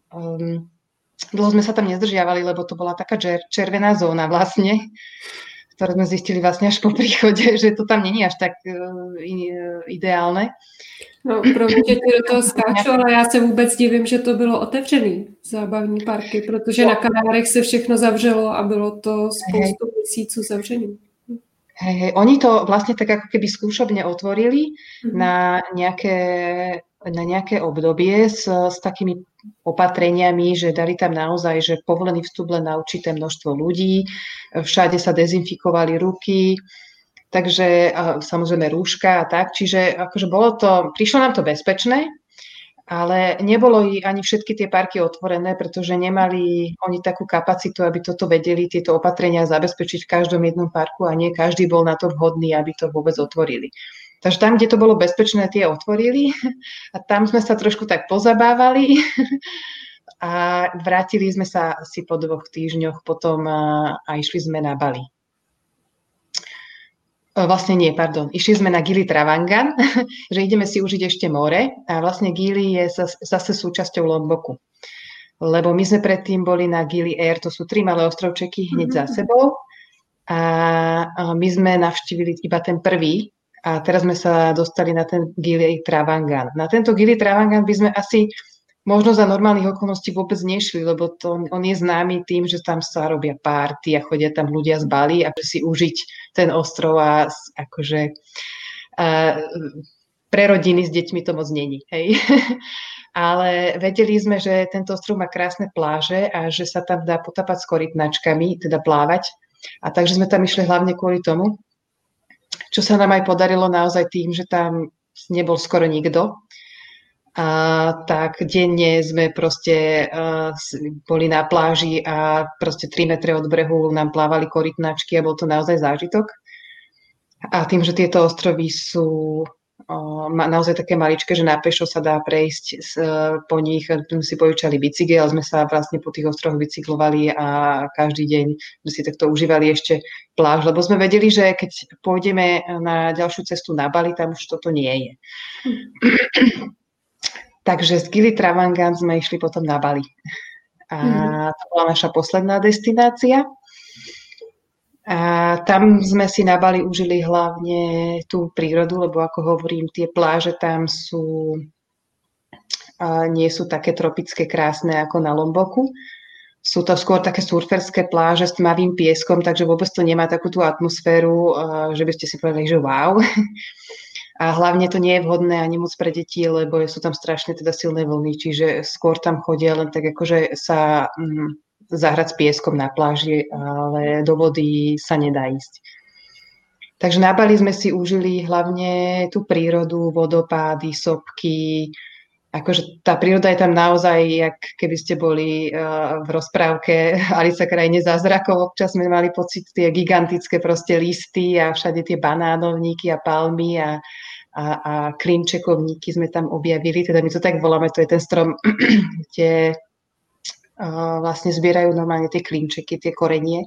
dlho sme sa tam nezdržiavali, lebo to bola taká červená zóna vlastne. ktoré sme zistili vlastne až po príchode, že to tam není až tak ideálne. No, promiň, že ti do toho skáču, ale já se vůbec divím, že to bylo otevřený, zábavní parky, protože na Kanárech se všechno zavřelo a bylo to spoustu měsíců zavřený. Hej, oni to vlastne tak ako keby skúšobne otvorili na nejaké obdobie s takými opatreniami, že dali tam naozaj, že povolený vstup len na určité množstvo ľudí, všade sa dezinfikovali ruky, takže samozrejme rúška a tak, čiže akože prišlo nám to bezpečné, ale nebolo ani všetky tie parky otvorené, pretože nemali oni takú kapacitu, aby toto vedeli, tieto opatrenia zabezpečiť v každom jednom parku a nie každý bol na to vhodný, aby to vôbec otvorili. Takže tam, kde to bolo bezpečné, tie otvorili a tam sme sa trošku tak pozabávali a vrátili sme sa asi po 2 týždňoch potom a išli sme na Bali. Vlastne nie, pardon. Išli sme na Gili Trawangan, že ideme si užiť ešte more a vlastne Gili je zase súčasťou Lomboku. Lebo my sme predtým boli na Gili Air, to sú 3 malé ostrovčeky hneď za sebou a my sme navštívili iba ten prvý a teraz sme sa dostali na ten Gili Trawangan. Na tento Gili Trawangan by sme asi možno za normálnych okolností vôbec nešli, lebo on je známy tým, že tam sa robia párty a chodia tam ľudia z Bali a si užiť ten ostrov a akože pre rodiny s deťmi to moc není. Hej. Ale vedeli sme, že tento ostrov má krásne pláže a že sa tam dá potapať s korytnačkami, teda plávať. A takže sme tam išli hlavne kvôli tomu, čo sa nám aj podarilo naozaj tým, že tam nebol skoro nikto. Tak denne sme proste boli na pláži a proste 3 metre od brehu nám plávali korytnačky a bol to naozaj zážitok. A tým, že tieto ostrovy sú naozaj také maličké, že na pešo sa dá prejsť po nich, sme si požičali bicykel, ale sme sa vlastne po tých ostrovoch bicyklovali a každý deň sme si takto užívali ešte pláž, lebo sme vedeli, že keď pôjdeme na ďalšiu cestu na Bali, tam už toto nie je. Takže z Gili Trawangan sme išli potom na Bali. A to bola naša posledná destinácia. A tam sme si na Bali užili hlavne tú prírodu, lebo ako hovorím, tie pláže tam nie sú také tropické krásne ako na Lomboku. Sú to skôr také surferské pláže s tmavým pieskom, takže vôbec to nemá takú tú atmosféru, že by ste si povedali, že wow. A hlavne to nie je vhodné ani moc pre deti, lebo sú tam strašne teda silné vlny, čiže skôr tam chodia len tak akože sa zahrať s pieskom na pláži, ale do vody sa nedá ísť. Takže na Bali sme si užili hlavne tú prírodu, vodopády, sopky. Akože tá príroda je tam naozaj, jak keby ste boli v rozprávke Alica krajine zázrakov. Občas sme mali pocit tie gigantické proste listy a všade tie banánovníky a palmy a klinčekovníky sme tam objavili. Teda my to tak voláme, to je ten strom, kde vlastne zbierajú normálne tie klinčeky, tie korenie,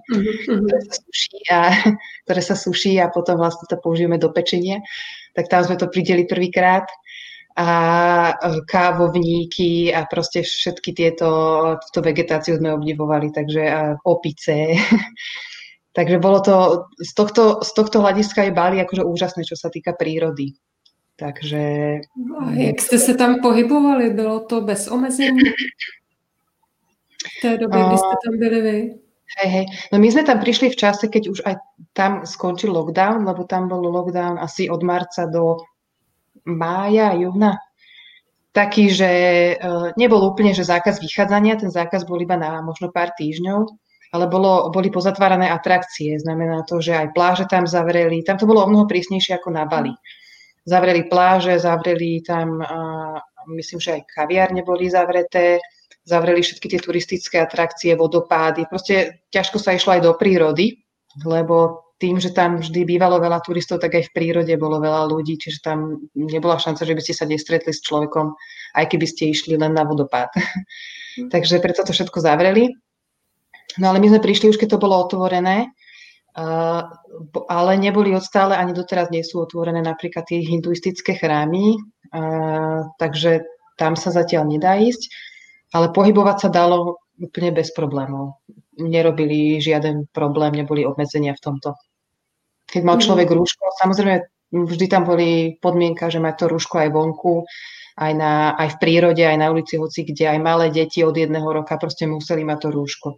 ktoré sa suší a potom vlastne to použijeme do pečenia. Tak tam sme to prideli prvýkrát. A kávovníky a proste všetky túto vegetáciu sme obdivovali, takže opice. Takže bolo to, z tohto hľadiska je Bali akože úžasné, čo sa týka prírody. Takže... A jak jste se tam pohybovali? Bylo to bez omezení v té době, kdy jste tam byli vy? Hej. No my sme tam prišli v čase, keď už aj tam skončil lockdown, lebo tam bol lockdown asi od marca do mája, júna, taký, že nebol úplne, že zákaz vychádzania, ten zákaz bol iba na možno pár týždňov, ale boli pozatvárané atrakcie, znamená to, že aj pláže tam zavreli, tam to bolo o mnoho prísnejšie ako na Bali. Zavreli pláže, zavreli tam, myslím, že aj kaviárne boli zavreté, zavreli všetky tie turistické atrakcie, vodopády, proste ťažko sa išlo aj do prírody, lebo tým, že tam vždy bývalo veľa turistov, tak aj v prírode bolo veľa ľudí, čiže tam nebola šanca, že by ste sa nestretli s človekom, aj keby ste išli len na vodopád. Takže preto to všetko zavreli. No ale my sme prišli už, keď to bolo otvorené, ale neboli odstále, ani doteraz nie sú otvorené napríklad tie hinduistické chrámy, takže tam sa zatiaľ nedá ísť, ale pohybovať sa dalo úplne bez problémov. Nerobili žiaden problém, neboli obmedzenia v tomto. keď mal človek rúško. Samozrejme, vždy tam boli podmienka, že má to rúško aj vonku, aj v prírode, aj na ulici, hoci kde, aj malé deti od 1 roka proste museli mať to rúško.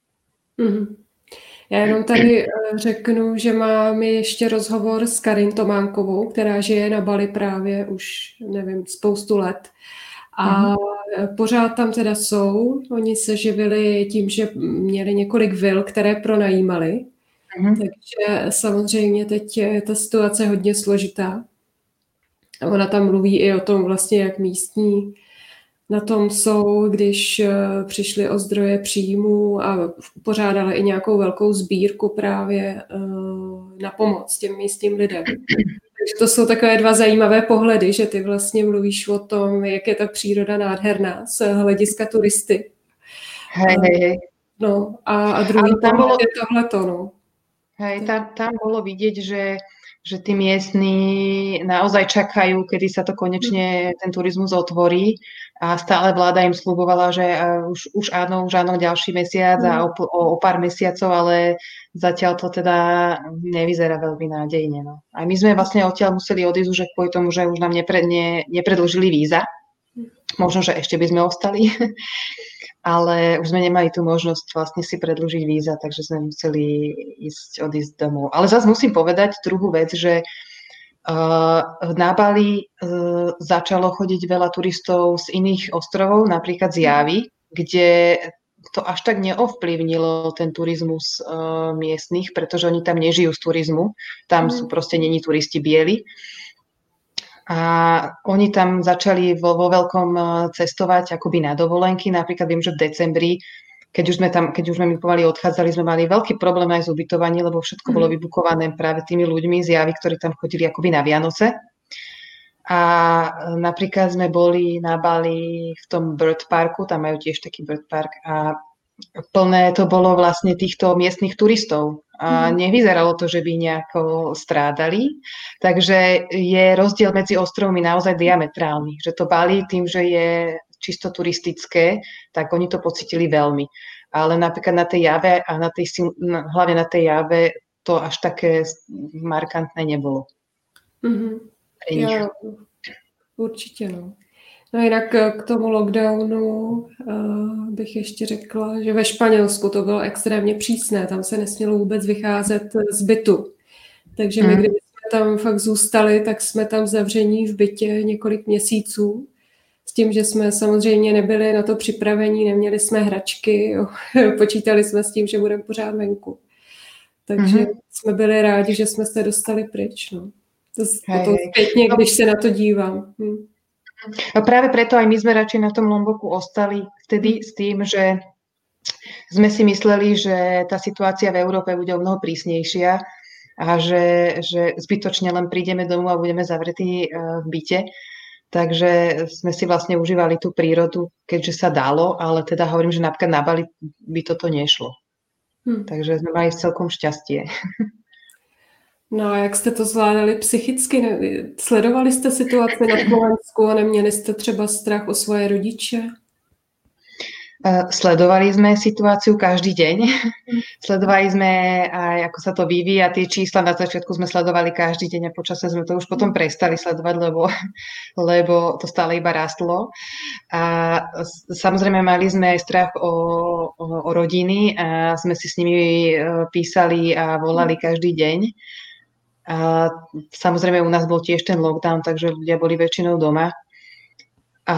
Já jenom tady řeknu, že máme ještě rozhovor s Karin Tománkovou, která žije na Bali právě už, nevím, spoustu let. A pořád tam teda jsou. Oni se živili tím, že měli několik vil, které pronajímali. Takže samozřejmě teď je ta situace hodně složitá. A ona tam mluví i o tom vlastně, jak místní na tom jsou, když přišli o zdroje příjmů a pořádali i nějakou velkou sbírku právě na pomoc těm místním lidem. Takže to jsou takové dva zajímavé pohledy, že ty vlastně mluvíš o tom, jak je ta příroda nádherná z hlediska turisty. Hej. No a druhý tam je tohleto, no. Hej, tam bolo vidieť, že tí miestni naozaj čakajú, kedy sa to konečne ten turizmus otvorí a stále vláda im sľubovala, že už áno, ďalší mesiac a o pár mesiacov, ale zatiaľ to teda nevyzerá veľmi nádejne. No. A my sme vlastne odtiaľ museli odísť už kvôli tomu, že už nám nepredĺžili víza. Možno, že ešte by sme ostali, ale už sme nemali tú možnosť vlastne si predĺžiť víza, takže sme museli odísť domov. Ale zase musím povedať druhú vec, že na Bali začalo chodiť veľa turistov z iných ostrovov, napríklad z Javy, kde to až tak neovplyvnilo ten turizmus miestnych, pretože oni tam nežijú z turizmu, tam sú proste není turisti bieli. A oni tam začali vo veľkom cestovať akoby na dovolenky. Napríklad viem, že v decembri, keď už sme my pomaly odchádzali, sme mali veľký problém aj s ubytovaním, lebo všetko bolo vybukované práve tými ľuďmi z Javy, ktorí tam chodili akoby na Vianoce. A napríklad sme boli na Bali v tom Bird Parku, tam majú tiež taký Bird Park a plné to bolo vlastne týchto miestnych turistov. A nevyzeralo to, že by nejako strádali. Takže je rozdiel medzi ostrovmi naozaj diametrálny. Že to Bali tým, že je čisto turistické, tak oni to pocítili veľmi. Ale napríklad na tej Jave a hlavne na tej Jave to až také markantné nebolo. Jo, určitě, no. No jinak k tomu lockdownu bych ještě řekla, že ve Španělsku to bylo extrémně přísné, tam se nesmělo vůbec vycházet z bytu. Takže my, kdyby jsme tam fakt zůstali, tak jsme tam zavření v bytě několik měsíců. S tím, že jsme samozřejmě nebyli na to připravení, neměli jsme hračky, jo. Počítali jsme s tím, že budeme pořád venku. Takže jsme byli rádi, že jsme se dostali pryč. No. To zpětně, když se na to dívám. A práve preto aj my sme radšej na tom Lomboku ostali vtedy s tým, že sme si mysleli, že tá situácia v Európe bude o mnoho prísnejšia a že zbytočne len prídeme domov a budeme zavretí v byte. Takže sme si vlastne užívali tú prírodu, keďže sa dalo, ale teda hovorím, že napríklad na Bali by toto nešlo. Takže sme mali celkom šťastie. No a jak jste to zvládali psychicky? Sledovali jste situaci na Slovensku a neměli jste třeba strach o svoje rodiče? Sledovali sme situáciu každý deň. Sledovali sme aj, ako sa to vyvíja. Tie čísla na začiatku sme sledovali každý deň a počasie sme to už potom prestali sledovať, lebo to stále iba rastlo. A samozrejme mali sme aj strach o rodiny a sme si s nimi písali a volali každý deň. A samozrejme u nás bol tiež ten lockdown, takže ľudia boli väčšinou doma. A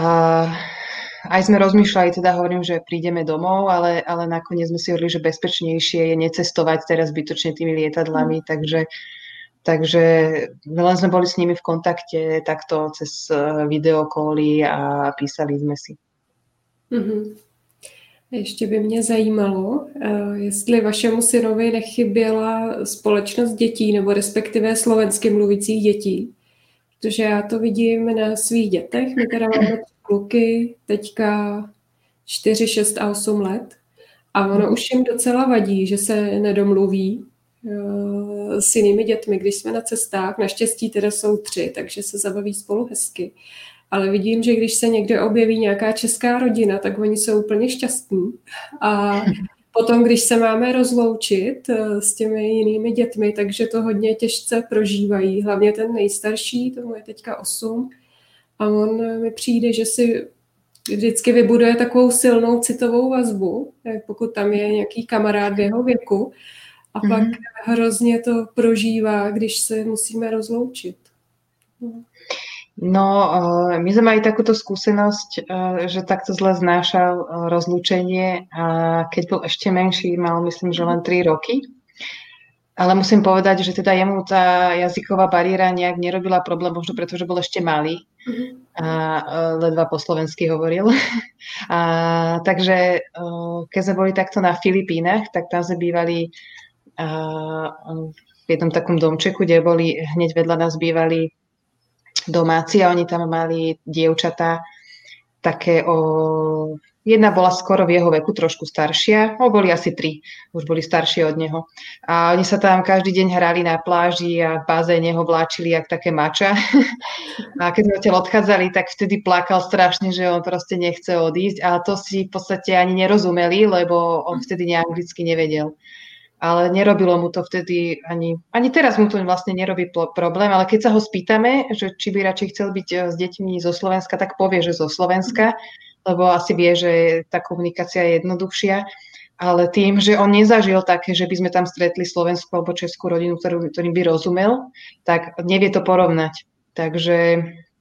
aj sme rozmýšľali, teda hovorím, že prídeme domov, ale nakoniec sme si hovorili, že bezpečnejšie je necestovať teraz zbytočne tými lietadlami, takže len sme boli s nimi v kontakte takto cez videokoly a písali sme si. Ještě by mě zajímalo, jestli vašemu synovi nechyběla společnost dětí, nebo respektive slovensky mluvících dětí. Protože já to vidím na svých dětech. My teda máme kluky, teďka 4, 6 a 8 let. A ono už jim docela vadí, že se nedomluví s jinými dětmi, když jsme na cestách. Naštěstí teda jsou 3, takže se zabaví spolu hezky. Ale vidím, že když se někde objeví nějaká česká rodina, tak oni jsou úplně šťastní. A potom, když se máme rozloučit s těmi jinými dětmi, takže to hodně těžce prožívají. Hlavně ten nejstarší, tomu je teďka 8, a on mi přijde, že si vždycky vybuduje takovou silnou citovou vazbu, pokud tam je nějaký kamarád v jeho věku, a pak hrozně to prožívá, když se musíme rozloučit. No, my sme mali takúto skúsenosť, že takto zle znášal rozlúčenie, a keď bol ešte menší, mal myslím, že len 3 roky. Ale musím povedať, že teda jemu tá jazyková bariéra nejak nerobila problém, možno preto, že bol ešte malý a ledva po slovensky hovoril. Takže keď sme boli takto na Filipínach, tak tam sme bývali v jednom takom domčeku, kde boli hneď vedľa nás bývali domáci a oni tam mali dievčatá také jedna bola skoro v jeho veku, trošku staršia, boli asi 3, už boli staršie od neho. A oni sa tam každý deň hrali na pláži a v bazéne ho vláčili jak také mača. A keď sme odtiaľ odchádzali, tak vtedy plakal strašne, že on proste nechce odísť, a to si v podstate ani nerozumeli, lebo on vtedy neanglicky nevedel. Ale nerobilo mu to vtedy, ani teraz mu to vlastne nerobí problém, ale keď sa ho spýtame, že či by radšej chcel byť s deťmi zo Slovenska, tak povie, že zo Slovenska, lebo asi vie, že tá komunikácia je jednoduchšia. Ale tým, že on nezažil také, že by sme tam stretli slovenskú alebo českú rodinu, ktorým by rozumel, tak nevie to porovnať. Takže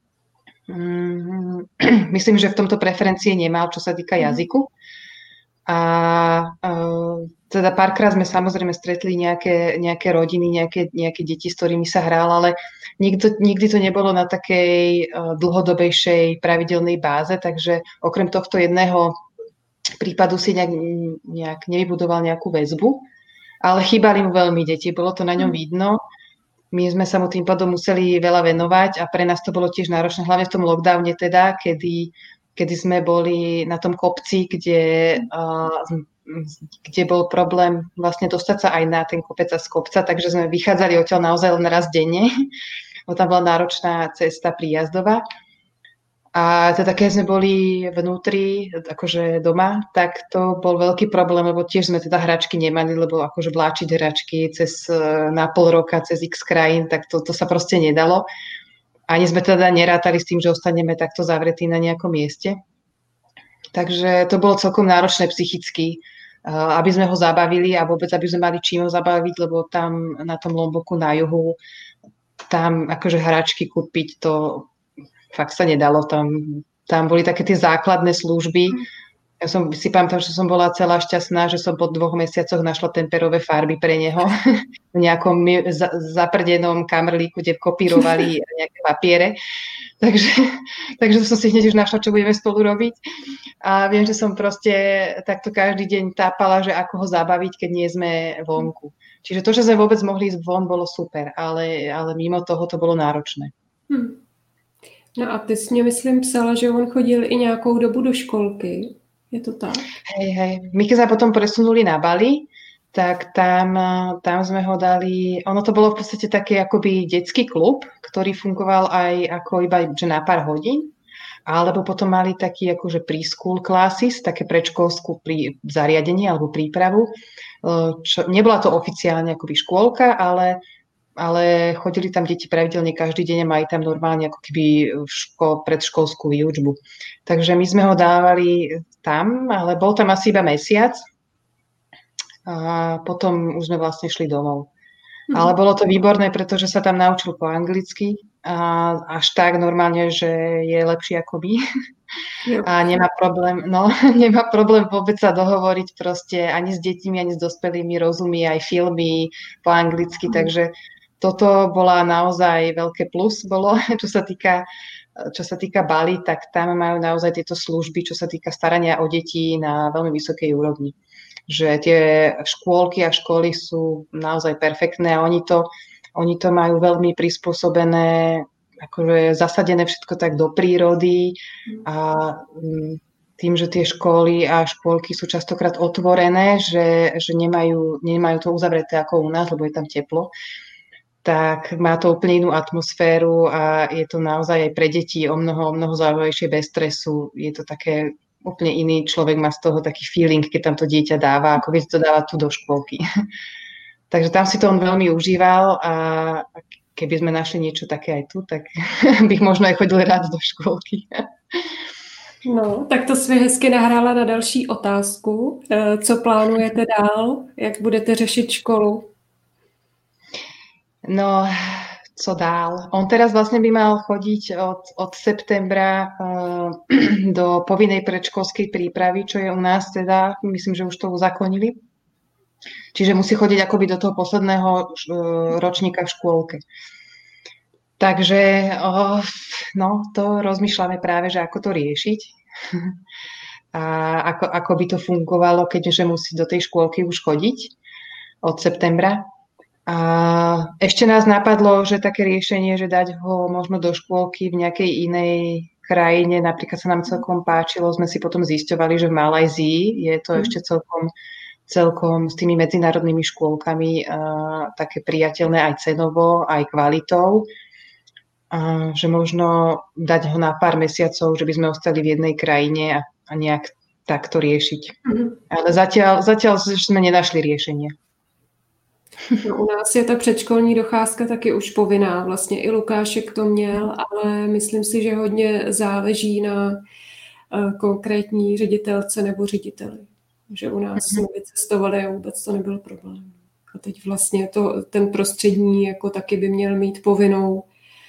myslím, že v tomto preferencie nemal, čo sa týka jazyku. A teda párkrát sme samozrejme stretli nejaké rodiny, nejaké deti, s ktorými sa hral, ale nikdy to nebolo na takej dlhodobejšej pravidelnej báze, takže okrem tohto jedného prípadu si nejak nevybudoval nejakú väzbu, ale chýbali mu veľmi deti, bolo to na ňom vidno. My sme sa mu tým pádom museli veľa venovať a pre nás to bolo tiež náročné, hlavne v tom lockdowne teda, kedy sme boli na tom kopci, kde bol problém vlastne dostať sa aj na ten kopec a z kopca, takže sme vychádzali odtiaľ naozaj len raz denne. Tam bola náročná cesta príjazdová. A teda keď sme boli vnútri, akože doma, tak to bol veľký problém, lebo tiež sme teda hračky nemali, lebo akože vláčiť hračky na pol roka cez x krajín, tak to sa proste nedalo. Ani sme teda nerátali s tým, že ostaneme takto zavretí na nejakom mieste. Takže to bolo celkom náročné psychicky, aby sme ho zabavili a vôbec, aby sme mali čím ho zabaviť, lebo tam na tom Lomboku na juhu, tam akože hračky kúpiť, to fakt sa nedalo. Tam boli také tie základné služby. Ja si pamätám, že som bola celá šťastná, že som po 2 mesiacoch našla temperové farby pre neho v nejakom zaprdenom kamrlíku, kde kopírovali nejaké papiere. Takže som si hneď už našla, čo budeme spolu robiť. A viem, že som proste takto každý deň tápala, že ako ho zabaviť, keď nie sme vonku. Čiže to, že sme vôbec mohli ísť von, bolo super, ale mimo toho to bolo náročné. No a ty jsi mě, myslím, psala, že on chodil i nějakou dobu do školky. Je to tak? Hej. My keď sa potom presunuli na Bali, tak tam sme ho dali, ono to bolo v podstate taký akoby detský klub, ktorý fungoval aj ako iba že na pár hodín, alebo potom mali taký akože preschool classes, také predškolskú zariadenie alebo prípravu. Nebola to oficiálne akoby škôlka, ale chodili tam deti pravidelne každý deň a mali tam normálne ako keby predškolskú výučbu. Takže my sme ho dávali tam, ale bol tam asi iba mesiac a potom už sme vlastne šli domov. Ale bolo to výborné, pretože sa tam naučil po anglicky a až tak normálne, že je lepší ako my. A nemá problém vôbec sa dohovoriť proste ani s deťmi, ani s dospelými, rozumí aj filmy po anglicky, takže toto bola naozaj veľké plus bolo, čo sa týka Bali, tak tam majú naozaj tieto služby, čo sa týka starania o deti na veľmi vysokej úrovni. Že tie škôlky a školy sú naozaj perfektné a oni to majú veľmi prispôsobené, akože zasadené všetko tak do prírody a tým, že tie školy a škôlky sú častokrát otvorené, že nemajú to uzavreté ako u nás, lebo je tam teplo, tak má to úplne inú atmosféru a je to naozaj aj pre deti o mnoho zaujímavejšie, bez stresu. Je to také úplne iný človek má z toho taký feeling, keď tam to dieťa dáva, ako keď to dáva tu do škôlky. Takže tam si to on veľmi užíval a keby sme našli niečo také aj tu, tak bych možno aj chodil rád do škôlky. No, tak to jsi hezky nahrála na další otázku. Co plánujete dál? Jak budete řešit školu? No, co dál? On teraz vlastne by mal chodiť od septembra do povinnej predškolskej prípravy, čo je u nás teda, myslím, že už to uzakonili. Čiže musí chodiť akoby do toho posledného ročníka v škôlke. Takže no, to rozmýšľame práve, že ako to riešiť. A ako by to fungovalo, keďže musí do tej škôlky už chodiť od septembra. A ešte nás napadlo, že také riešenie, že dať ho možno do škôlky v nejakej inej krajine, napríklad sa nám celkom páčilo, sme si potom zisťovali, že v Malajzii je to ešte celkom s tými medzinárodnými škôlkami také priateľné aj cenovo, aj kvalitou. Že možno dať ho na pár mesiacov, že by sme ostali v jednej krajine a nejak takto riešiť. Ale zatiaľ sme nenašli riešenie. No, u nás je ta předškolní docházka taky už povinná. Vlastně i Lukášek to měl, ale myslím si, že hodně záleží na konkrétní ředitelce nebo řediteli. Že u nás jsme vycestovali a vůbec to nebyl problém. A teď vlastně ten prostřední jako taky by měl mít povinnou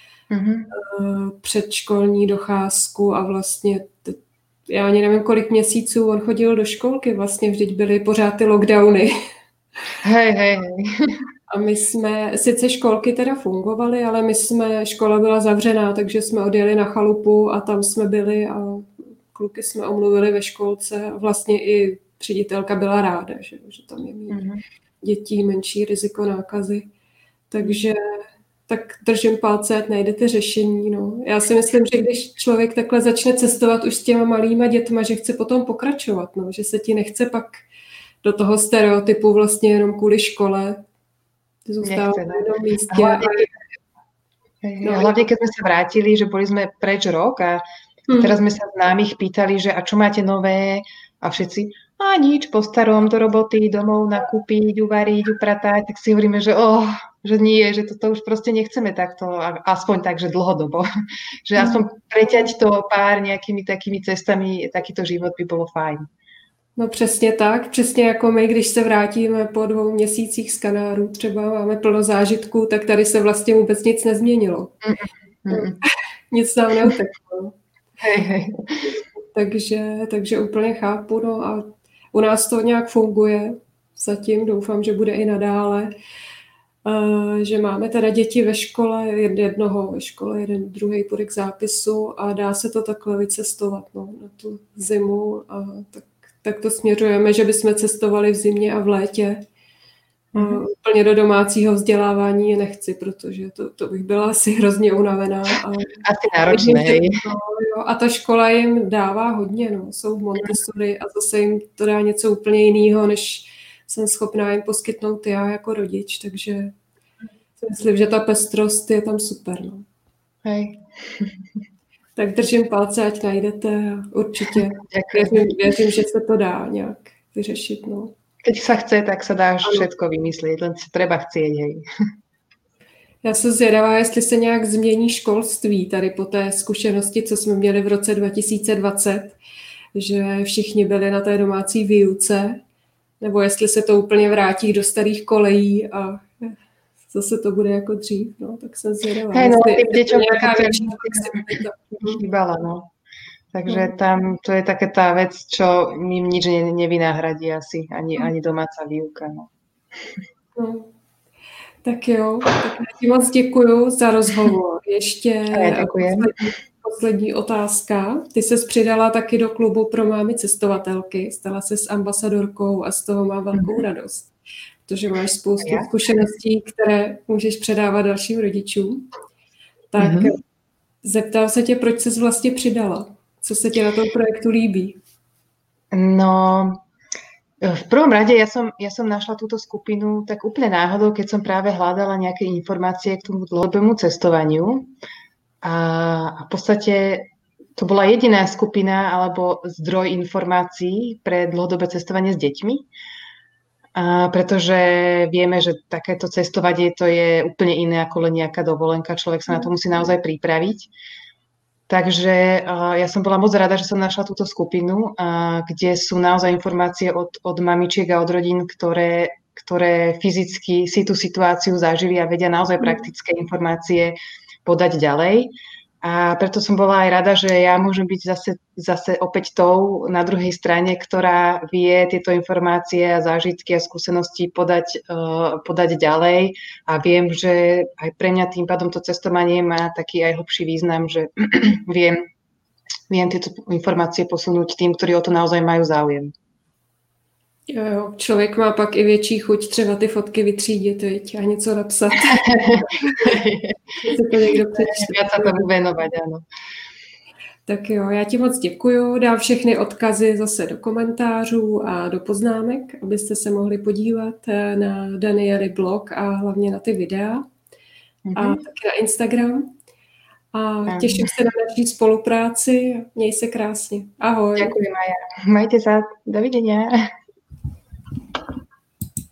předškolní docházku a vlastně já ani nevím, kolik měsíců on chodil do školky. Vlastně vždyť byly pořád ty lockdowny. Hej. A my jsme, sice školky teda fungovaly, ale škola byla zavřená, takže jsme odjeli na chalupu a tam jsme byli a kluky jsme omluvili ve školce. Vlastně i ředitelka byla ráda, že tam je mít dětí menší riziko nákazy. Takže tak držím palce, ať najdete řešení. No. Já si myslím, že když člověk takhle začne cestovat už s těma malýma dětma, že chce potom pokračovat, no, že se ti nechce pak do toho stereotypu vlastně jenom kvůli škole. Zůstává v jednom místě. Hlavne, keď sme sa vrátili, že boli sme preč rok a teraz sme sa známych pýtali, že a čo máte nové? A všetci, a nič, po starom, do roboty, domov nakúpiť, uvariť, upratať. Tak si hovoríme, že že nie, že toto už proste nechceme takto, aspoň tak, že dlhodobo. Že aspoň preťať to pár nejakými takými cestami, takýto život by bolo fajn. No přesně tak, přesně jako my, když se vrátíme po 2 měsících z Kanárů, třeba máme plno zážitků, tak tady se vlastně vůbec nic nezměnilo. Nic nám neuteklo. Takže úplně chápu, no a u nás to nějak funguje, zatím doufám, že bude i nadále, že máme teda děti ve škole, jednoho ve škole, jeden druhý půjde k zápisu a dá se to takhle vycestovat, no, na tu zimu a tak to směřujeme, že bychom cestovali v zimě a v létě. Úplně do domácího vzdělávání je nechci, protože to bych byla asi hrozně unavená. Asi náročné. A ta škola jim dává hodně, no. Jsou v Montessori a zase jim to dá něco úplně jiného, než jsem schopná jim poskytnout já jako rodič, takže si myslím, že ta pestrost je tam super. No. Hej. Tak držím palce, ať najdete určitě. Věřím, že se to dá nějak vyřešit. No. Keď sa chce, tak sa dá všetko vymyslieť, len si treba chcieť, hej. Já jsem zvědavá, jestli se nějak změní školství tady po té zkušenosti, co jsme měli v roce 2020, že všichni byli na té domácí výuce, nebo jestli se to úplně vrátí do starých kolejí a zase to bude jako dřív, no, tak jsem zvědavá. Hej, no, tým deťom chýbala, no. Takže tam to je také tá vec, čo im nič nevynahradí asi, ani domáca výuka. No. Tak jo, tak já ti moc děkuju za rozhovor. Ještě poslední otázka. Ty ses přidala taky do klubu pro mámy cestovatelky, stala se s ambasadorkou a z toho mám velkou radost, protože máš spoustu zkušeností, které můžeš předávat dalším rodičům. Tak zeptám se tě, proč ses vlastně přidala? Co se ti na tom projektu líbí? No, v prvom rade ja som našla túto skupinu tak úplne náhodou, keď som práve hľadala nejaké informácie k tomu dlhodobému cestovaniu. A v podstate to bola jediná skupina alebo zdroj informácií pre dlhodobé cestovanie s deťmi. Pretože vieme, že takéto cestovanie to je úplne iné ako len nejaká dovolenka. Človek sa na to musí naozaj pripraviť. Takže ja som bola moc rada, že som našla túto skupinu, kde sú naozaj informácie od mamičiek a od rodín, ktoré fyzicky si tú situáciu zažili a vedia naozaj praktické informácie podať ďalej. A preto som bola aj rada, že ja môžem byť zase opäť tou na druhej strane, ktorá vie tieto informácie a zážitky a skúsenosti podať ďalej. A viem, že aj pre mňa tým pádom to cestovanie má taký aj hlbší význam, že viem tieto informácie posunúť tým, ktorí o to naozaj majú záujem. Jo, člověk má pak i větší chuť třeba ty fotky vytřídit, viď, a něco napsat. Viac sa tomu venovať, áno. Tak jo, já ti moc děkuju. Dám všechny odkazy zase do komentářů a do poznámek, abyste se mohli podívat na Daniely blog a hlavně na ty videa. A taky na Instagram. A těším se na naší spolupráci. Měj se krásně. Ahoj. Ďakujem, Maja. Majte sa. Dovidenia.